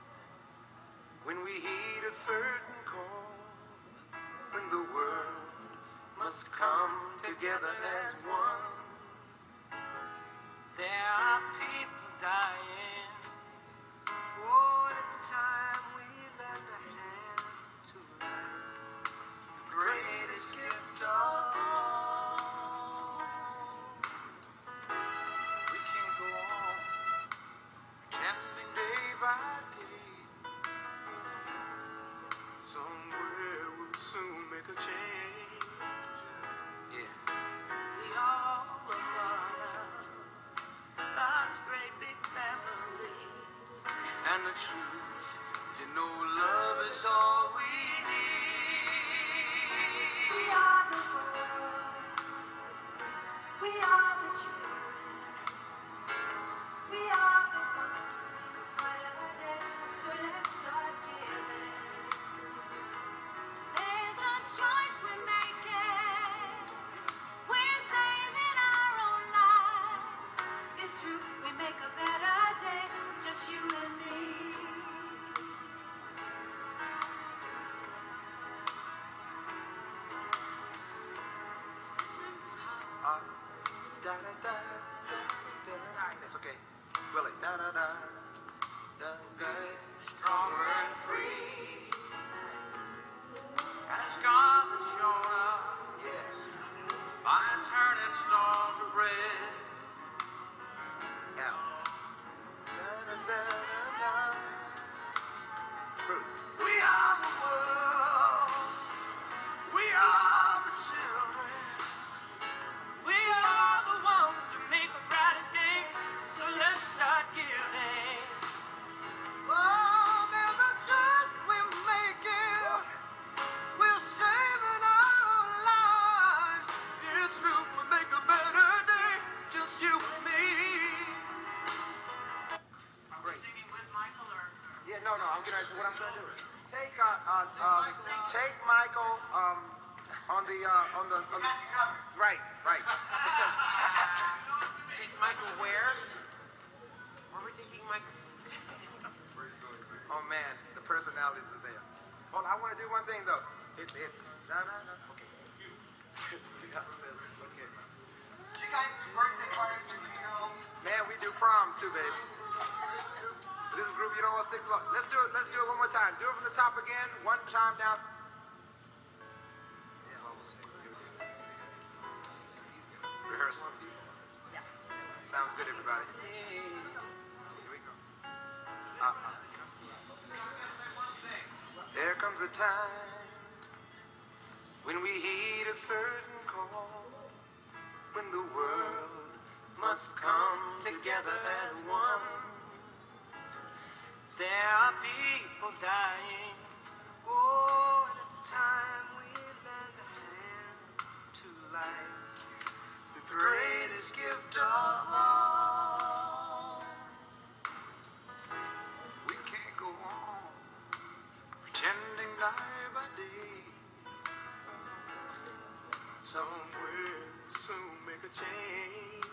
J: when we heed a certain call, when the world must come together as one. There are people dying. Oh, it's time we lend a hand to life, the greatest gift of all. We can't go on pretending day by day. Somewhere we'll soon make a change. Yeah. We all are part of God's great big family. And the truth, you know, love is all we need. We are the world. We are the children. We are the ones who make a brighter day. So let's start giving. There's a choice we're making. We're saving our own lives. It's true, we make a better day. Just you and me. Da da da da da. It's okay. Willie. Da da da da da. Stronger and free. Got scars shown up. Yeah. By turning stone to bread. Yeah. Da da da da da. We are the world. We are the children. We are the ones who make a brighter day. So let's start giving. Oh, there's a choice we're making. We're saving our lives. It's true, we make a better day. Just you and me. Great. Singing with Michael or? Yeah, no, I'm gonna. What I'm gonna do is take Michael on the right. Take Michael where? Where are we taking Michael? Oh man, the personalities are there. Hold on, I want to do one thing though. Okay. Okay. You guys do birthday parties for 2-year-olds? Man, we do proms too, babes. This group, you don't want to stick to. Let's do it one more time. Do it from the top again. One time down. Rehearsal. Sounds good, everybody. Here we go. There comes
K: comes a time when we heed a certain call, when the world must come together as one. There are people dying. Oh, and it's time we lend a hand to life, the greatest gift of all. We can't go on pretending day by day. Somewhere soon make a change.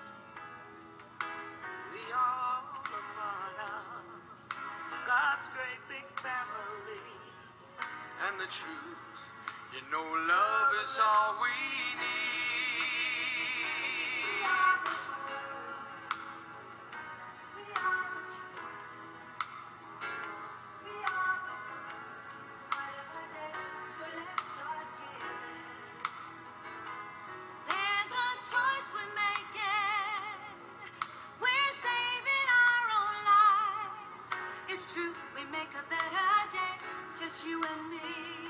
K: We all are part of God's great big family. And the truth, you know, love is all we need. We are the world. We are the children. We are the ones night by day. So let's start giving.
G: There's a choice we're making. We're saving our own lives. It's true, we make a better day, just you and me.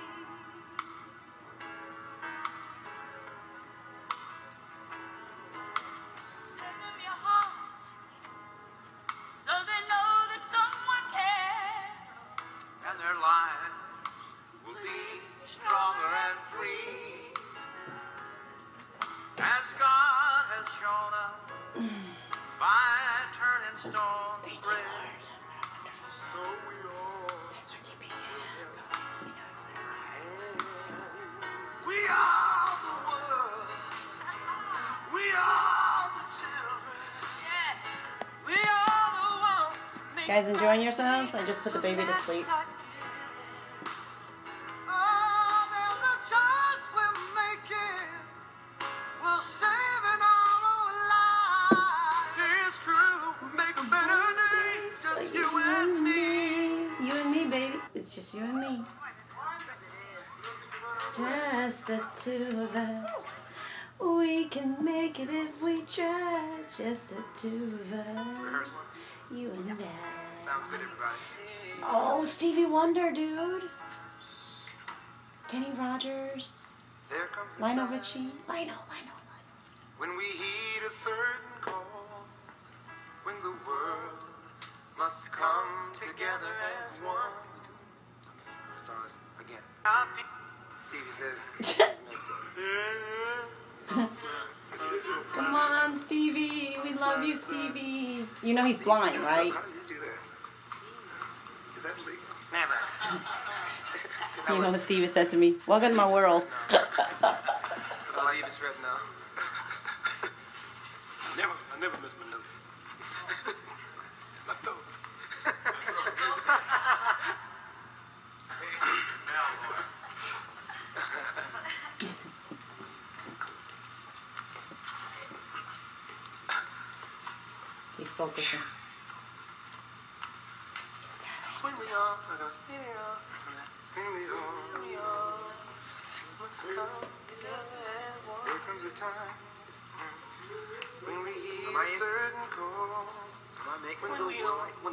G: Give them your heart, so they know that someone cares.
K: And their lives will be stronger and free, as God has shown us by turning stone to bread. So we all we are the world. We are the children.
G: Yes.
J: We are the ones to make
A: Guys, enjoying yourselves? I just put the baby to sleep.
K: Oh, there's a choice we're making. We're saving our own lives. It's true. Make a better day. Just you and me.
A: You and me, baby. It's just you and me. Just the two of us. We can make it if we try. Just the two of us. You and I.
K: Sounds good, everybody.
A: Oh, Stevie Wonder, dude. Kenny Rogers.
K: There comes a
A: Lionel
K: time
A: Richie. Lionel.
K: when we heed a certain call, when the world must come together as one. Start again. Stevie says.
A: Come on, Stevie. We love you, Stevie. You know he's blind, right?
K: How did you do that? Is that legal?
F: Never.
A: You know what Stevie said to me? Welcome to my world.
F: I'll leave this right now.
K: I never miss my note. My throat.
A: He's focusing.
K: When we all must come together as one. There comes a time when we heed a certain call. When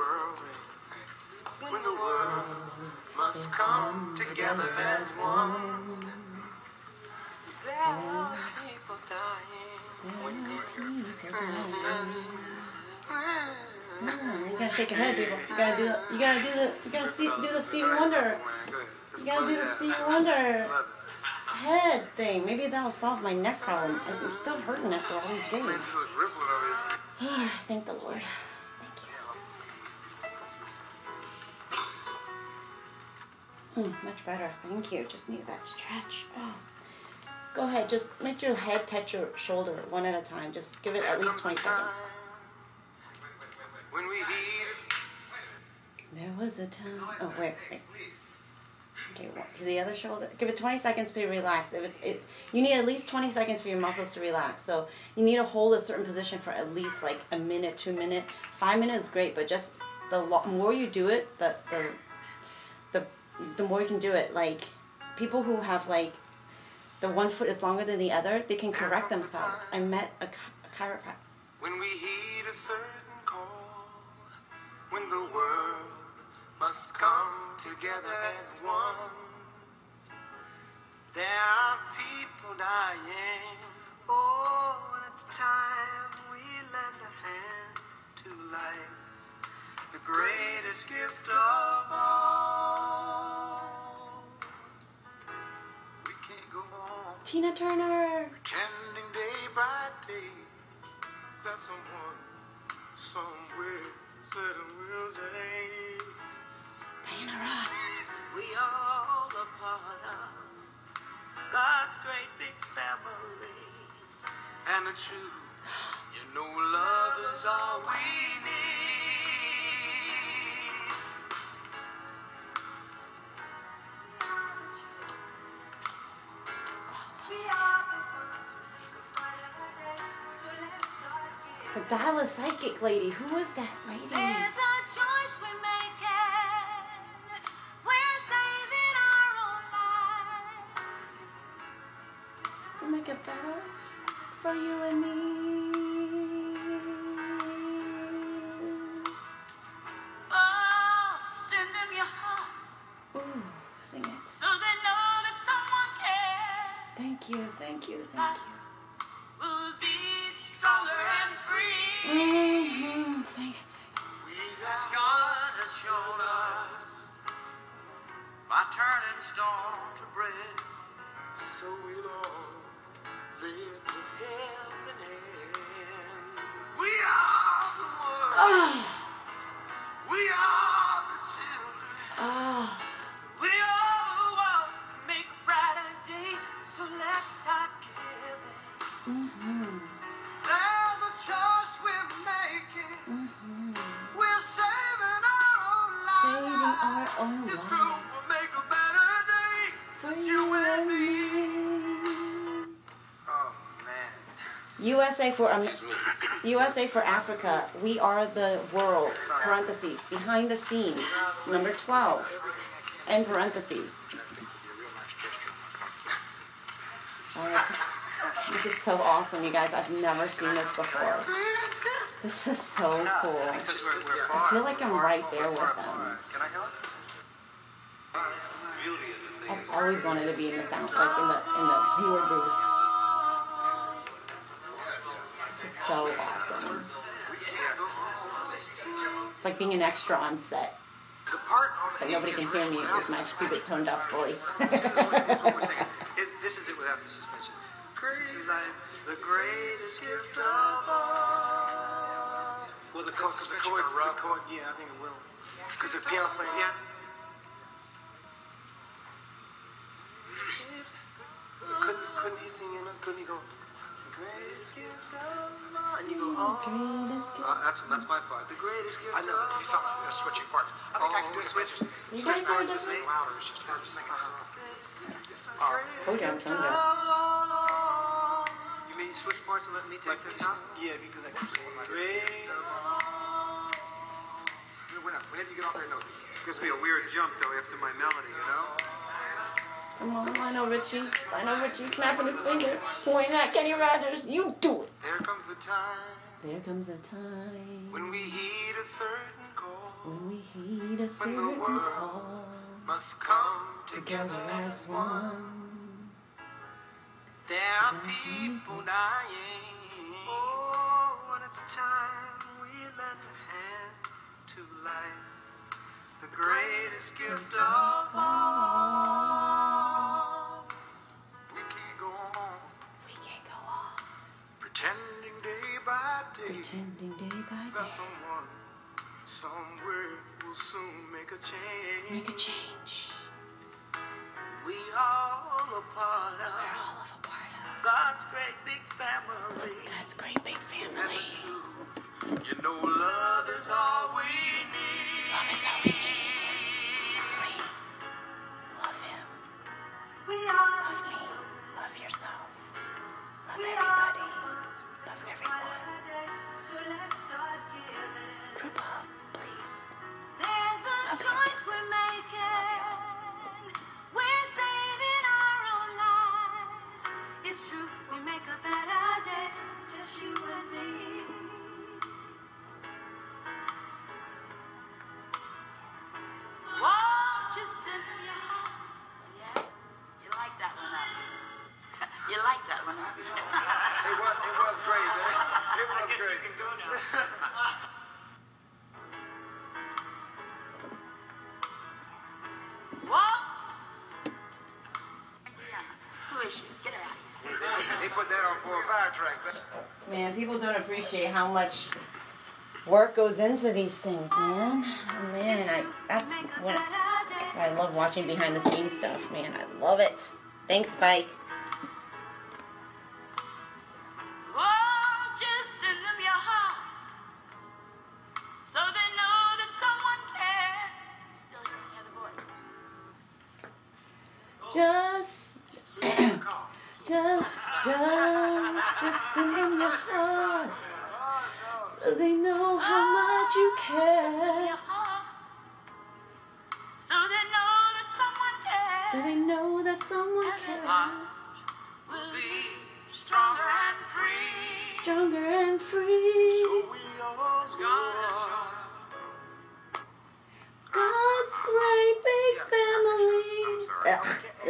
K: the world must come together as one. There are people dying.
A: You gotta shake your head, people. You gotta do the Stevie Wonder. You gotta do the Stevie Wonder head thing. Maybe that'll solve my neck problem. I'm still hurting after all these days. Thank the Lord. Thank you. Much better. Thank you. Just need that stretch. Oh. Go ahead. Just make your head touch your shoulder one at a time. Just give it at least 20 seconds.
K: When we heed.
A: There was a time. Oh, wait. Okay, to the other shoulder. Give it 20 seconds to relax. You need at least 20 seconds for your muscles to relax. So you need to hold a certain position for at least like a minute, 2 minutes. 5 minutes is great, but just the more you do it, the more you can do it. Like people who have like the one foot is longer than the other, they can correct themselves. I met a chiropractor.
K: When we heed a certain call, when the world must come together together as one. There are people dying. Oh, and it's time we lend a hand to life, the greatest gift of all. We can't go on
A: Tina Turner.
K: pretending day by day that someone somewhere said it will change.
A: Diana Ross.
K: We all a part of God's great big family. And the truth, you know, love is all we need.
A: The Dallas Psychic lady. Who was that lady?
G: There's a choice we're making. We're saving our own lives.
A: To make it better it's for you and me.
G: Oh, send them your heart
A: Ooh, sing it.
G: so they know that someone cares.
A: Thank you, thank you, thank you.
G: We'll be stronger and free.
A: Mm-hmm. Sing it, sing it.
K: As God has shown us by turning stone to bread, so we'll all live to heaven end. We are the world. We are the children.
G: We all want to make a brighter day, so let's start giving.
K: There's a choice we're making. We're saving our own lives.
A: Saving our own
K: It's true,
A: lives.
K: we'll make a better day.
A: For
K: Just
A: you
K: you and
A: and
K: me.
A: me.
K: Oh, man.
A: USA for USA for Africa. We are the world. Parentheses. Behind the scenes. Number 12. And parentheses. Alright. This is so awesome, you guys. I've never seen this before. This is so cool. I feel like I'm right there with them.
K: Can I help?
A: I've always wanted to be in the sound, like in the viewer booth. This is so awesome. It's like being an extra on set,
K: The part on the
A: but nobody can hear me with my stupid toned deaf voice.
K: This is it without the suspension. The greatest gift of all. Well, the chord, yeah, I think it will. Because the piano's playing. Yeah. Couldn't he sing in it? Couldn't he go? The greatest gift of all. And you go, oh.
A: Greatest gift.
K: That's my part. The greatest gift. I know. He's talking about switching parts. I think I can do the switches.
A: You guys hear the difference?
K: Louder. It's just hard to sing it.
A: Told you I'm toned deaf.
K: You mean switch parts and let me take the top? Yeah, if you do that. Whenever you get off that note, it's going to be a weird jump, though, after my melody, you know?
A: Come on, Lionel Richie. Lionel Richie snapping his finger, pointing at Kenny Rogers. You do it.
K: There comes a time
A: There comes a time
K: when we heed a certain call.
A: when we heed a
K: When
A: certain
K: the world
A: call.
K: must come
A: Together as one.
K: There are people dying. Oh, and it's time we lend a hand to life, the greatest gift of all. We can't go on
A: We can't go on
K: pretending day by day
A: pretending day by
K: that
A: day.
K: someone somewhere will soon make a change.
A: Make a change.
K: We all a part
A: We're
K: of
A: all of a part of
K: God's great big family.
A: God's great big
K: And
A: family.
K: the truth, you know, love is all we need.
A: Love is all we need. Please, love him.
G: We are
A: Love me. Love yourself. Love everybody. Love everyone.
G: so let's start giving.
A: Group up, please.
G: There's a
A: Love
G: choice
A: services.
G: we're making. We're saving our own lives. It's true, we make a better day, just you and me.
L: He put that on for a fire track.
A: Man, people don't appreciate how much work goes into these things, man. Oh, man, that's what I love watching behind the scenes stuff, man. I love it. Thanks, Spike.
G: Oh, just send them your heart, so they know that someone cares. I'm still hearing the other voice.
A: Just send them your heart, so they know how much you care.
G: So they know that someone cares.
A: So they know that someone cares.
G: Will be stronger and free.
A: Stronger and free. God's great big family. Ugh.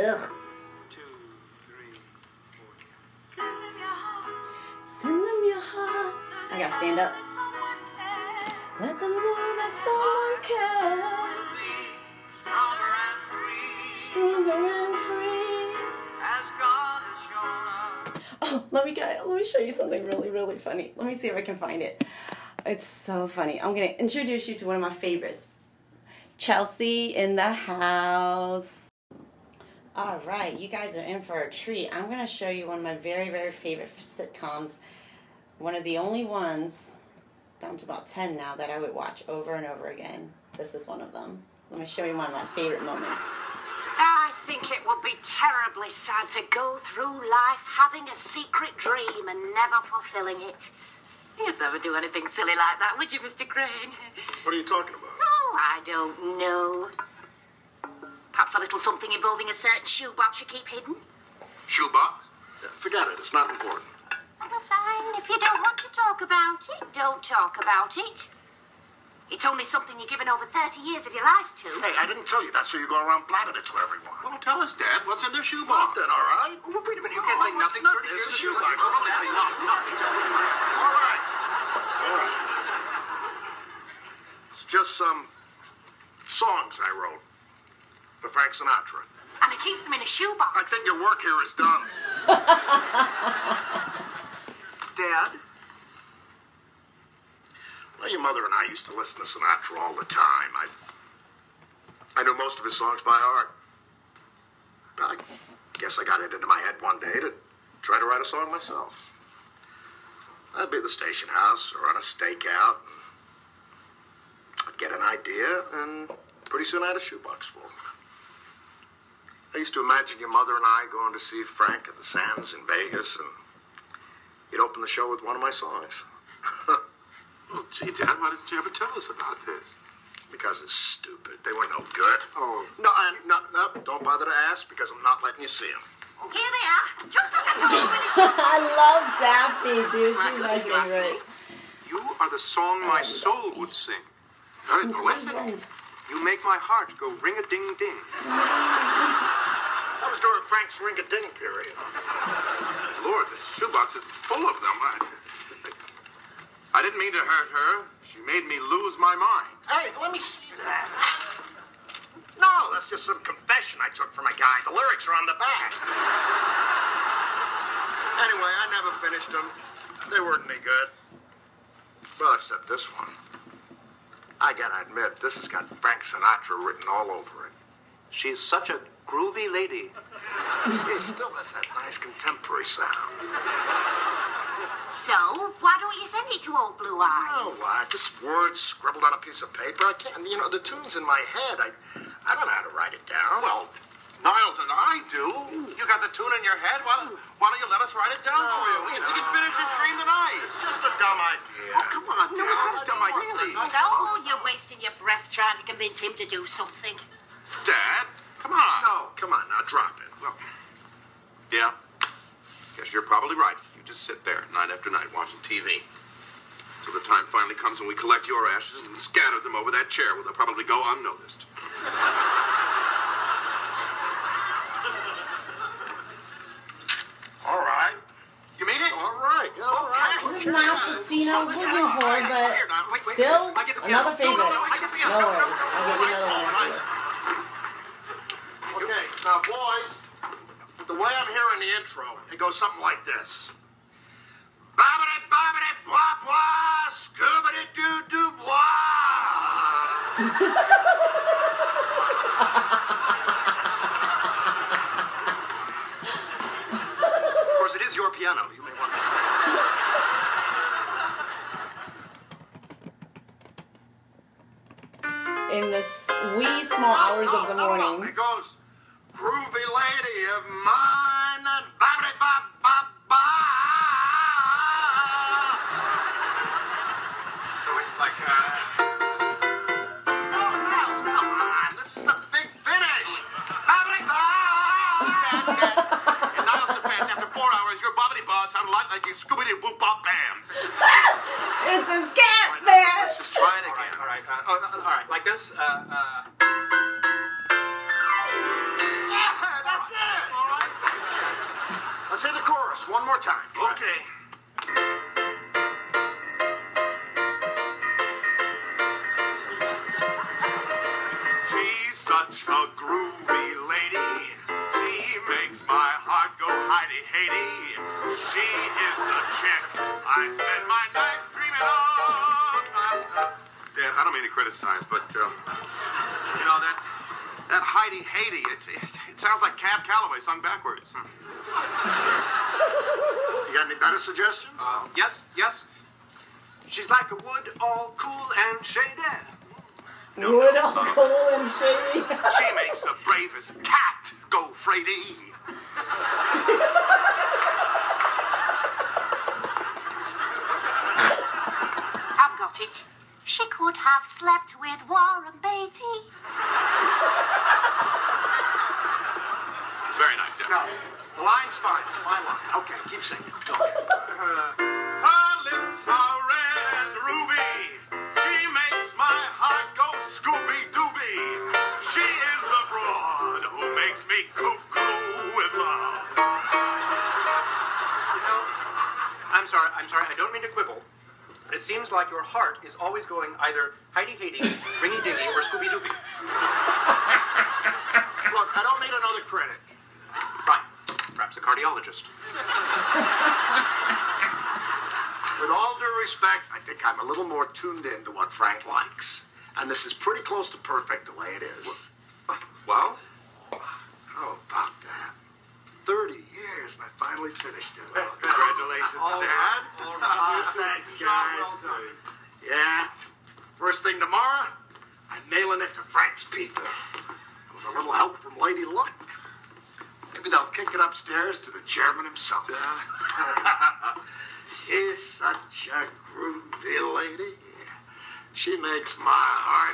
G: Send them your heart.
A: Send them your heart. I gotta stand up. Let them know that someone cares.
G: Stronger and free.
A: Stronger and free.
G: As God has shown us.
A: Oh, let me show you something really, really funny. Let me see if I can find it. It's so funny. I'm gonna introduce you to one of my favorites. Chelsea in the house. All right, you guys are in for a treat. I'm gonna show you one of my very, very favorite sitcoms. One of the only ones, down to about 10 now, that I would watch over and over again. This is one of them. Let me show you one of my favorite moments.
M: I think it would be terribly sad to go through life having a secret dream and never fulfilling it. You'd never do anything silly like that, would you, Mr. Crane?
E: What are you talking about?
M: Oh, I don't know. Perhaps a little something involving a certain shoebox you keep hidden?
E: Shoebox? Yeah, forget it. It's not important.
M: Well, fine. If you don't want to talk about it, don't talk about it. It's only something you've given over 30 years of your life to.
E: Hey, I didn't tell you that, so you go around blabbing it to everyone. Well, tell us, Dad. What's in the shoebox? Then, all right?
L: Well, wait a minute. You can't say nothing. 30 years
E: It's a
L: of
E: shoebox.
L: shoebox.
E: All right. All right. It's just some songs I wrote for Frank Sinatra.
M: And he keeps them in a shoebox.
E: I think your work here is done.
L: Dad?
E: Well, your mother and I used to listen to Sinatra all the time. I knew most of his songs by heart. I guess I got it into my head one day to try to write a song myself. I'd be at the station house or on a stakeout, and I'd get an idea, and pretty soon I had a shoebox full. I used to imagine your mother and I going to see Frank at the Sands in Vegas, and he'd open the show with one of my songs.
L: Well, gee, Dad, why didn't you ever tell us about this?
E: Because it's stupid. They were no good.
L: Oh.
E: No, don't bother to ask, because I'm not letting you see them.
M: Here they are, just like I told you in the shoebox.
A: I love Daphne, dude. She's my favorite.
L: You are the song my soul would sing. Got it, listen. You make my heart go ring-a-ding-ding.
E: That was during Frank's ring-a-ding period.
L: Lord, this shoebox is full of them. I didn't mean to hurt her. She made me lose my mind.
E: Hey, let me see that. No, that's just some confession I took from a guy. The lyrics are on the back. Anyway, I never finished them. They weren't any good. Well, except this one. I gotta admit, this has got Frank Sinatra written all over it.
L: She's such a groovy lady.
E: It still has that nice contemporary sound.
M: So, why don't you send it to Old Blue Eyes?
E: Oh, just words scribbled on a piece of paper. I can't, the tune's in my head. I don't know how to write it down.
L: Well, Niles and I do. You got the tune in your head? Why don't you let us write it down for you? We can finish this dream tonight.
E: It's just a dumb idea.
L: Oh, come on, no, it's not a dumb idea. Really.
M: So, you're wasting your breath trying to convince him to do something.
L: Dad, come on.
E: No, come on now, drop it.
L: Well, yeah, guess you're probably right. You just sit there night after night watching TV. Till the time finally comes when we collect your ashes and scatter them over that chair where they'll probably go unnoticed.
E: All right.
L: You mean it?
E: All right. All right.
A: This is not the scene I was looking for, but still another favorite. No worries. I'll give you another one after this.
E: Okay, now, boys, with the way I'm hearing the intro, it goes something like this. Bobbity bobbity blah blah, scoobity doo doo blah.
L: Of course, it is your piano. You may want to...
A: In the wee small hours of the morning.
E: It goes, groovy lady of mine, and bobbity bob bob bob.
L: So it's like,
E: Oh, Miles, come on. This is the big finish. Bobbity bob.
L: In Niles Defense, after 4 hours, your bobbity bob sounded a lot like your Scooby-Doo Bop Bam.
A: It's a scat band.
L: Let's just try it again.
D: All right, all right, like this.
E: Yeah, that's it. All right. Let's hear the chorus one more time.
L: Okay. She's such a groovy lady. She makes my heart go hidey-haty. She is the chick I spend my nights dreaming of. Dan, I don't mean to criticize, but, you know, that hidey-haty, it sounds like Cab Calloway sung backwards.
E: You got any better suggestions?
D: Yes. She's like a wood, all cool and shady.
A: Wood all cool and shady.
L: She makes the bravest cat go Frady.
M: I've got it. She could have slept with Warren Beatty.
L: Very nice, Dan.
E: No, the line's fine. It's my line. Okay, keep singing. Go ahead.
L: Her lips are red as ruby. She makes my heart go Scooby-Dooby. She is the broad who makes me cuckoo with love.
D: You know, I'm sorry, I don't mean to quibble, but it seems like your heart is always going either hidey-haty, ringy-dingy, or Scooby-Dooby.
E: Look, I don't need another critic.
D: Fine. Perhaps a cardiologist.
E: With all due respect, I think I'm a little more tuned in to what Frank likes. And this is pretty close to perfect the way it is.
L: Well?
E: How about that? 30 years and I finally finished it.
L: Congratulations, Dad.
E: Thanks, guys. Yeah. First thing tomorrow, I'm mailing it to Frank's people. With a little help from Lady Luck. Maybe they'll kick it upstairs to the chairman himself. She's such a groovy lady. She makes my heart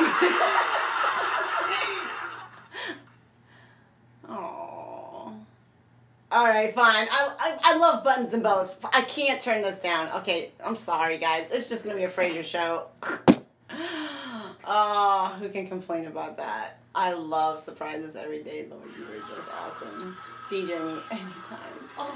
E: go.
A: Aww. All right, fine. I love Buttons and Bows. I can't turn this down. Okay, I'm sorry, guys. It's just gonna be a Frasier show. Oh, who can complain about that? I love surprises every day, Lord. You were just awesome. DJ me anytime. Oh.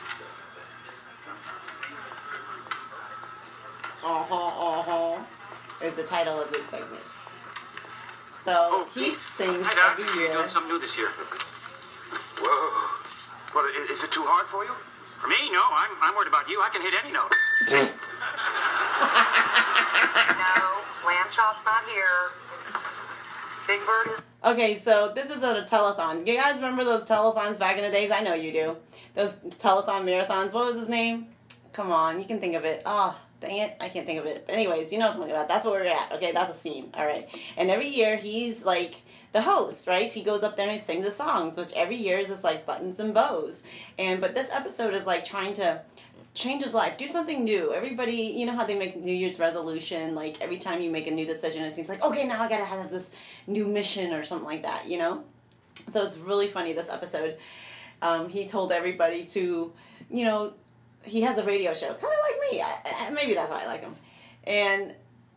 A: Is the title of this segment. So he sings
L: Hi, Doc.
A: every
L: You're
A: year.
L: doing something new this year. Whoa. What, is it too hard for you? For me, no. I'm worried about you. I can hit any note.
N: No, lamb chop's not here. Big Bird is...
A: Okay, so this is a telethon. You guys remember those telethons back in the days? I know you do. Those telethon marathons. What was his name? Come on, you can think of it. Oh, dang it, I can't think of it. But anyways, you know what I'm talking about. That's where we're at. Okay, that's a scene. All right. And every year he's like the host, right? He goes up there and he sings the songs, which every year is just like Buttons and Bows. But this episode is like trying to change his life, do something new. Everybody, you know how they make New Year's resolution, like every time you make a new decision, it seems like, okay, now I gotta have this new mission or something like that, you know? So it's really funny, this episode. He told everybody to, you know, he has a radio show, kind of like me. Maybe that's why I like him. And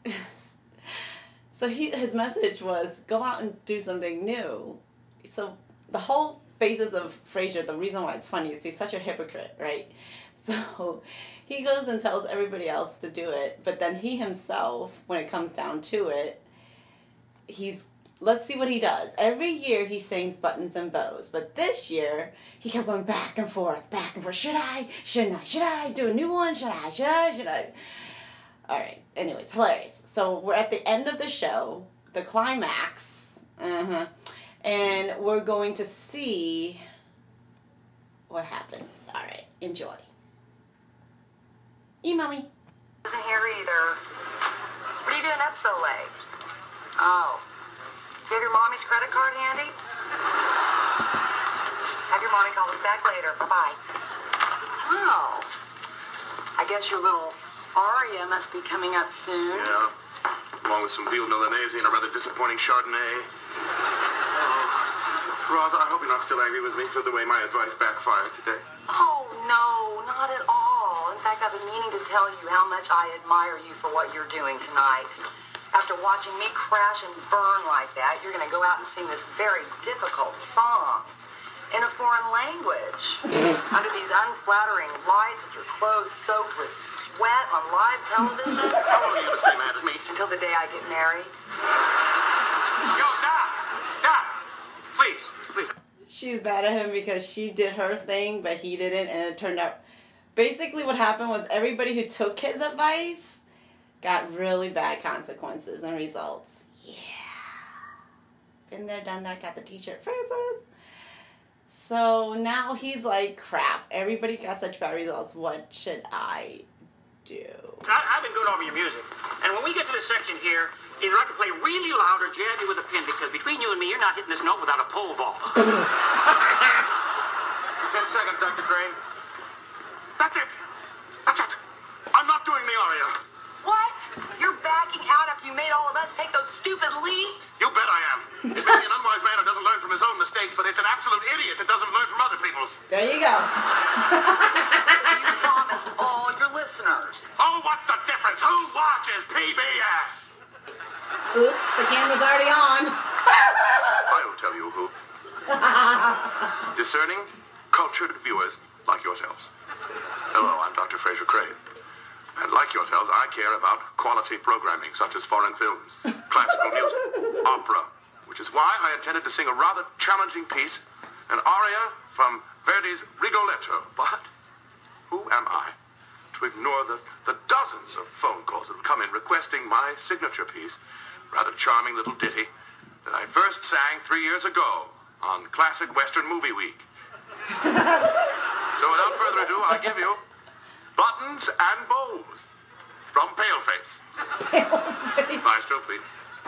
A: so his message was, go out and do something new. So the whole phases of Frasier, the reason why it's funny is he's such a hypocrite, right? So he goes and tells everybody else to do it, but then he himself, when it comes down to it, he's let's see what he does. Every year he sings Buttons and Bows, but this year he kept going back and forth. Should I? Shouldn't I? Should I do a new one? Should I? All right. Anyway, it's hilarious. So we're at the end of the show, the climax, and we're going to see what happens. All right. Enjoy. Mommy.
N: Isn't here either. What are you doing up so late? Oh. Do you have your mommy's credit card handy? Have your mommy call us back later. Bye-bye. Oh. I guess your little aria must be coming up soon.
L: Yeah. Along with some veal milanese and a rather disappointing Chardonnay. Rosa, I hope you're not still angry with me for the way my advice backfired today.
N: Oh, no, not at all. In fact, I've been meaning to tell you how much I admire you for what you're doing tonight. After watching me crash and burn like that, you're going to go out and sing this very difficult song in a foreign language under these unflattering lights with your clothes soaked with sweat on live television.
L: How long are you going to stay mad at me?
N: Until the day I get married.
L: Yo, Doc! Please.
A: She's mad at him because she did her thing, but he didn't, and it turned out... Basically what happened was everybody who took his advice got really bad consequences and results. Yeah. Been there, done that, got the t-shirt, Francis. So now he's like, crap, everybody got such bad results. What should I do?
O: I've been going over your music. And when we get to this section here, either I can play really loud or jab you with a pin, because between you and me, you're not hitting this note without a pole vault.
L: 10 seconds, Dr. Crane. That's it. I'm not doing the aria.
N: What? You're backing out after you made all of us take those stupid leaps?
L: You bet I am. Maybe an unwise man who doesn't learn from his own mistakes, but it's an absolute idiot that doesn't learn from other people's.
A: There you go.
N: You promised all your listeners.
L: Oh, what's the difference? Who watches PBS?
A: Oops, the camera's already on.
L: I'll tell you who. Discerning, cultured viewers like yourselves. Hello, I'm Dr. Fraser Crane. And like yourselves, I care about quality programming, such as foreign films, classical music, opera, which is why I intended to sing a rather challenging piece, an aria from Verdi's Rigoletto. But who am I to ignore the dozens of phone calls that have come in requesting my signature piece, rather charming little ditty, that I first sang 3 years ago on Classic Western Movie Week. So without further ado, I give you Buttons and Bows from Paleface. Maestro, please.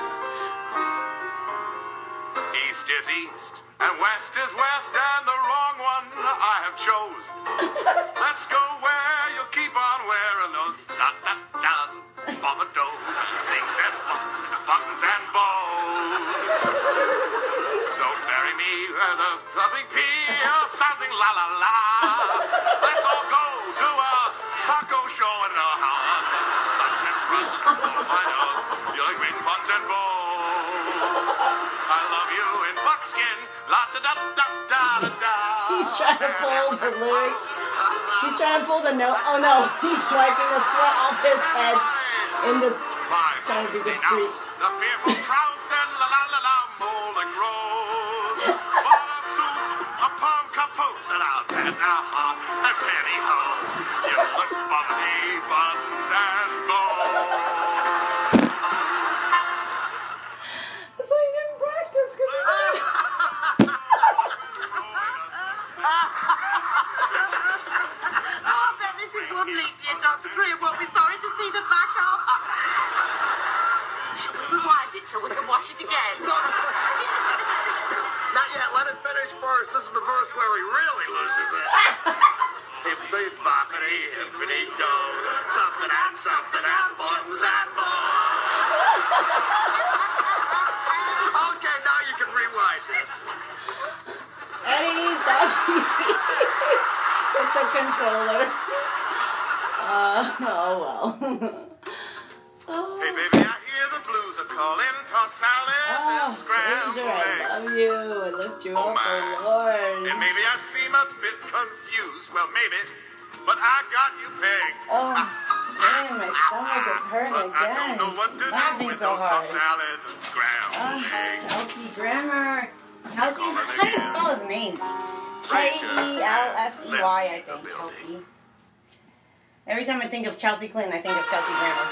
L: East is east, and west is west, and the wrong one I have chose. Let's go where you'll keep on wearing those da-da-das, bobbados, and things and buttons and bows. Don't bury me with a big P or something la-la-la. Let's all go to a taco show and a house. Such an impress my nose. You like green buttons and bows. I love you in buckskin. La-da-da-da-da-da-da.
A: He's trying to pull the lyrics. He's trying to pull the note. Oh no, he's wiping the sweat off his head in this. Trying to be discreet.
L: The fearful trounce and la-la-la-la molding rose. What a souse, a palm capoose, and I'll bet a hop and pantyhose. You look bubbly, buttons and bows.
A: So he didn't practice because he didn't.
P: I bet this is one leap year Dr. Crane won't be sorry to see the back of.
M: Rewind it so we can watch it again.
E: Not yet. Let it finish first. This is the verse where he really loses it. Hippity boppity, hippity do. Something and buttons and bows. Okay, now you can rewind it.
A: Eddie, Dougie, took the controller. Oh well.
L: Hey, baby, I hear the blues are calling. Toss salads and scrambled
A: Fraser, I
L: eggs.
A: love you. I lift you
L: Oh,
A: up,
L: my.
A: oh Lord.
L: And maybe I seem a bit confused. Well, maybe. But I got you pegged.
A: Oh. Man, my stomach is hurting again.
E: I don't know what to
A: Laughing
E: do with
A: so
E: those
A: hard.
E: tossed salads and scrambled eggs.
A: Kelsey Grammer. Kelsey, how do you spell his name? K-E-L-S-E-Y, I think. Kelsey. Every time I think of Chelsea Clinton, I think of Kelsey Grammer.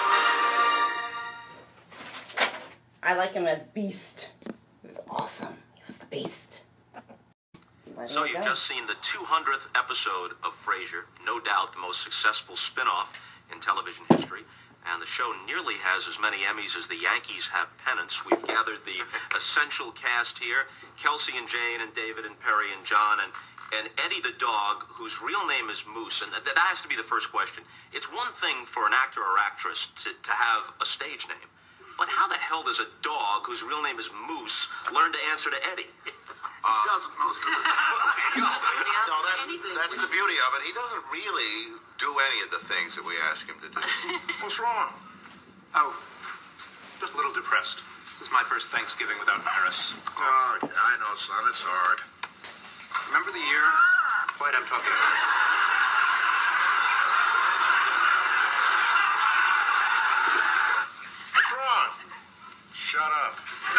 A: I like him as Beast. He was awesome. He was the Beast.
Q: So you've just seen the 200th episode of Frasier, no doubt the most successful spin-off in television history. And the show nearly has as many Emmys as the Yankees have pennants. We've gathered the essential cast here, Kelsey and Jane and David and Perry and John and Eddie the dog, whose real name is Moose. And that has to be the first question. It's one thing for an actor or actress to have a stage name. But how the hell does a dog whose real name is Moose learn to answer to Eddie?
E: He doesn't most of the time.
L: No, that's the beauty of it. He doesn't really do any of the things that we ask him to do.
E: What's wrong?
R: Oh, just a little depressed. This is my first Thanksgiving without Paris.
E: Oh, yeah, I know, son. It's hard.
R: Remember the year? Wait, I'm talking about.
E: What's wrong? Shut up.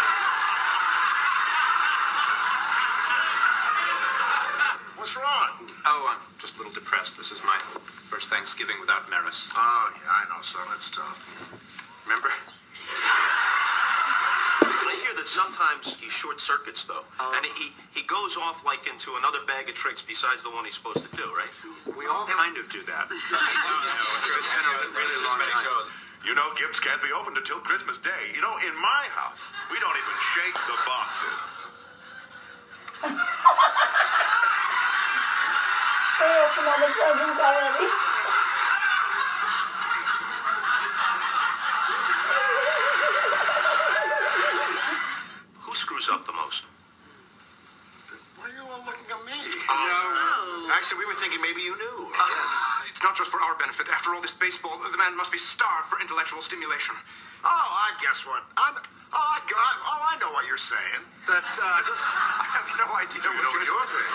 E: What's wrong?
R: Oh, I'm just a little depressed. This is my first Thanksgiving without Maris.
E: Oh, yeah, I know, son. It's tough.
R: Remember?
Q: But I hear that sometimes he short circuits, though. And he goes off like into another bag of tricks besides the one he's supposed to do, right?
R: We all kind of do that.
L: It's been a really long many shows.
E: You know, gifts can't be opened until Christmas Day. You know, in my house, we don't even shake the boxes.
A: They opened all the presents already.
Q: Who screws up the most?
E: Why are you all looking at me?
R: Actually, we were thinking maybe you knew. It's not just for our benefit. After all this baseball, the man must be starved for intellectual stimulation.
E: Oh, I guess what? I know what you're saying. That,
R: I have no idea what you're saying.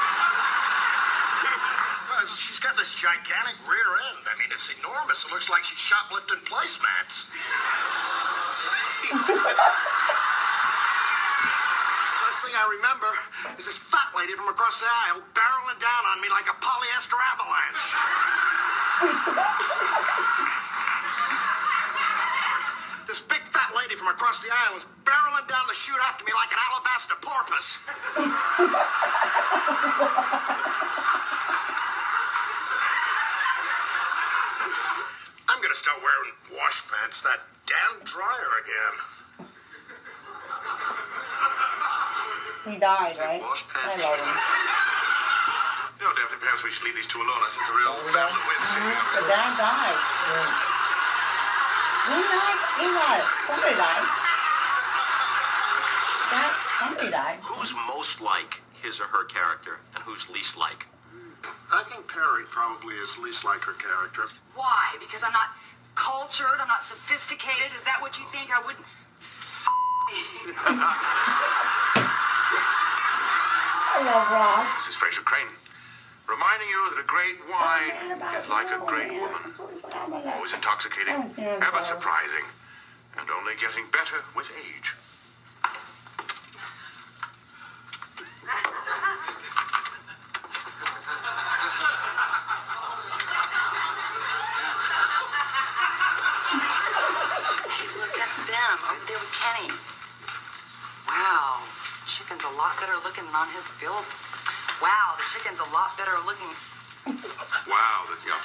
E: She's got this gigantic rear end. I mean, it's enormous. It looks like she's shoplifting placemats. Last thing I remember is this fat lady from across the aisle barreling down on me like a polyester avalanche. This big fat lady from across the aisle was barreling down the chute after me like an alabaster porpoise. I'm gonna start wearing wash pants, that damn dryer again.
A: He died, right?
L: Wash pants.
A: I love him.
L: You know, Daphne, perhaps we should leave these two alone. I sense a real battle of wits here.
A: The dad died. Who died? He died. Somebody died. Somebody died.
Q: Who's most like his or her character, and who's least like?
E: I think Perry probably is least like her character.
N: Why? Because I'm not cultured, I'm not sophisticated? Is that what you think? I wouldn't
A: I love Ross.
L: This is Fraser Crane, reminding you that a great wine is like a great woman. Always intoxicating, ever surprising, and only getting better with age.
N: them over there with Kenny. Wow, chicken's a lot better looking than on his bill. Wow, the chicken's a lot better looking.
L: Wow, yeah.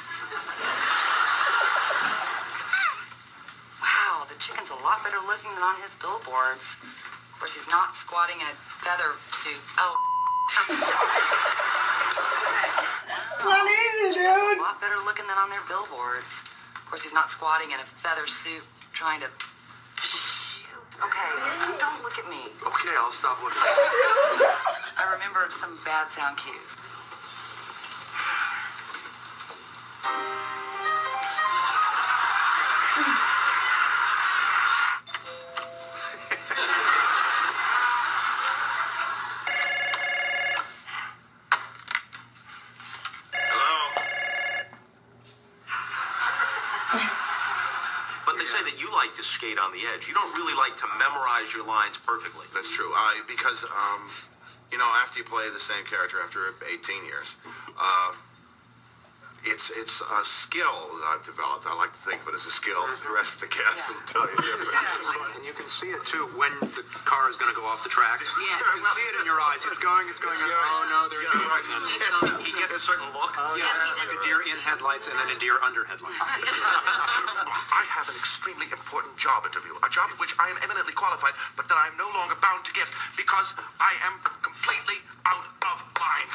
N: Wow, the chicken's a lot better looking than on his billboards. Of course, he's not squatting in a feather suit. Oh, I'm sorry.
A: Not easy, dude.
N: A lot better looking than on their billboards. Of course, he's not squatting in a feather suit trying to... Shoot. Okay, don't look at me.
L: Okay, I'll stop looking.
N: I remember some bad sound cues.
Q: like to skate on the edge. You don't really like to memorize your lines perfectly.
E: That's true. Because, after you play the same character after 18 years, it's a skill that I've developed. I like to think of it as a skill. The rest of the cast will tell you different.
R: And you can see it too when the car is going to go off the track.
O: Yeah.
R: You can see it in your eyes. It's going. Oh no, there it goes.
O: He gets a certain look.
R: Yes, like a deer in headlights and then a deer under headlights.
E: I have an extremely important job interview, a job which I am eminently qualified, but that I am no longer bound to give because I am completely out of lines.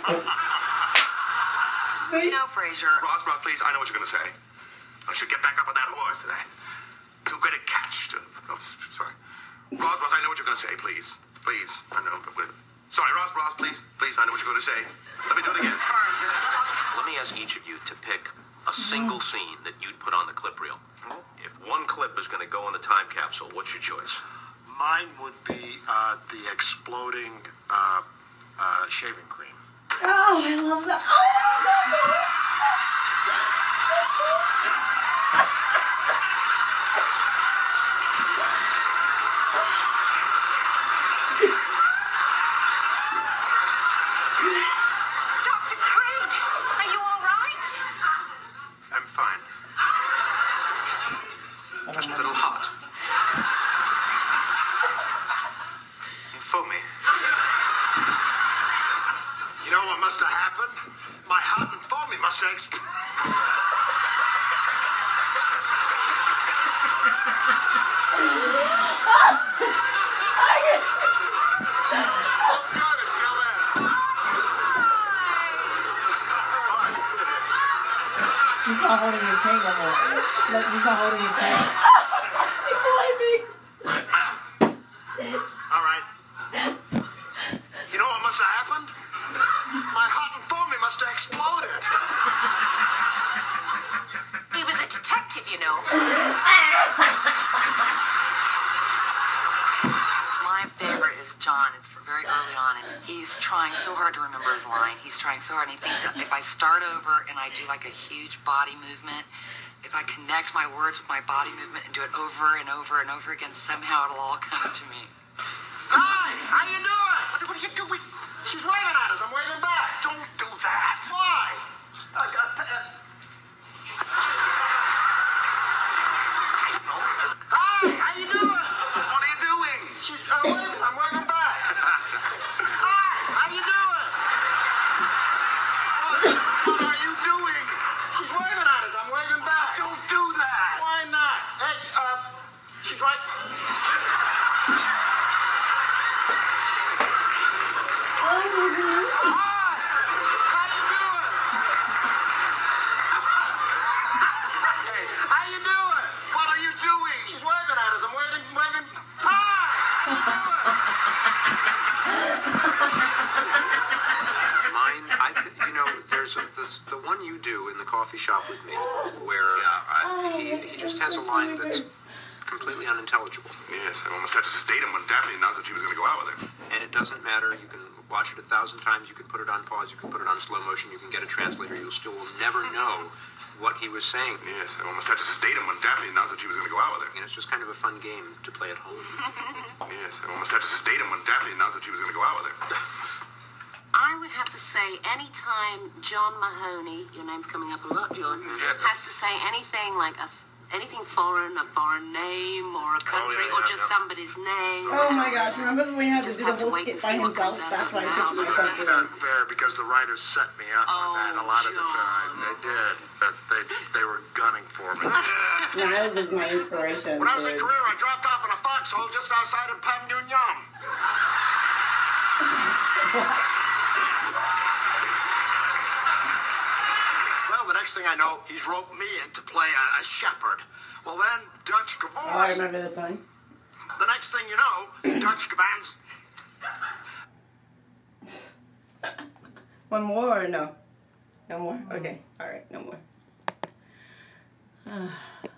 N: You know, Frasier.
E: Ross, please, I know what you're going to say. I should get back up on that horse today. Too great a catch to... Oh, sorry. Ross, I know what you're going to say, please. Please, I know, but wait. Sorry, Ross, please, I know what you're going to say. Let me do it again.
Q: Let me ask each of you to pick a single scene that you'd put on the clip reel. If one clip is going to go in the time capsule, what's your choice?
E: Mine would be the exploding shaving cream.
A: Oh, I love that. Oh, my God.
P: Dr. Craig, are you all right?
E: I'm fine. Just a little hot. And foamy. You know what must have happened? My hot and foamy must have exploded.
S: He's not holding his hand up. Look, he's not holding his hand.
E: All right. You know what must have happened? My hot and foamy must have exploded.
M: He was a detective, you know.
N: My favorite is John. It's very early on, and he's trying so hard to remember his line. He's trying so hard, and he thinks that if I start over and I do like a huge body movement, if I connect my words with my body movement and do it over and over and over again, somehow it'll all come to me.
E: Hi, how you doing? What are you doing? She's waving at us. I'm waving back. Don't do that. Why? Hi, how you doing? What are you doing? She's waving. I'm waving back. Hi, how you doing? What are you doing? She's waving at us. I'm waving back. Don't do that. Why not? Hey, she's right.
A: Oh my goodness.
E: Hi, how you doing? Hey, how you doing? What are you doing? She's waving at us. I'm waving. Hi, how you doing?
R: Mine, there's the one you do in the coffee shop with me, where he just has a line that's completely unintelligible.
E: Yes, I almost had to sedate him when Daphne announced that she was going to go out with him.
R: And it doesn't matter. You can watch it 1,000 times. You can put it on pause. You can put it on slow motion. You can get a translator. You'll still never know what he was saying.
E: Yes, I almost had to sedate him when Daphne announced that she was going to go out with him.
R: And it's just kind of a fun game to play at home.
E: Yes, I almost had to sedate him when Daphne announced that she was going to go out with him.
M: I would have to say anytime John Mahoney, your name's coming up a lot, John, has to say anything like anything foreign, a foreign name or a country or just somebody's name.
A: Oh my gosh, remember when we had to do the whole skit by himself? That's why I pictured myself
E: It's
A: doing
E: not fair because the writers set me up on that a lot of the time. They did. They were gunning for me.
A: Niles is my inspiration.
E: When I was in Korea, I dropped off in a foxhole just outside of Panmunjom. Well, the next thing I know, he's roped me in to play a shepherd. Well, then Dutch divorce.
A: Oh, I remember this one.
E: The next thing you know, Dutch commands.
A: One more or no? No more? Okay. All right. No more.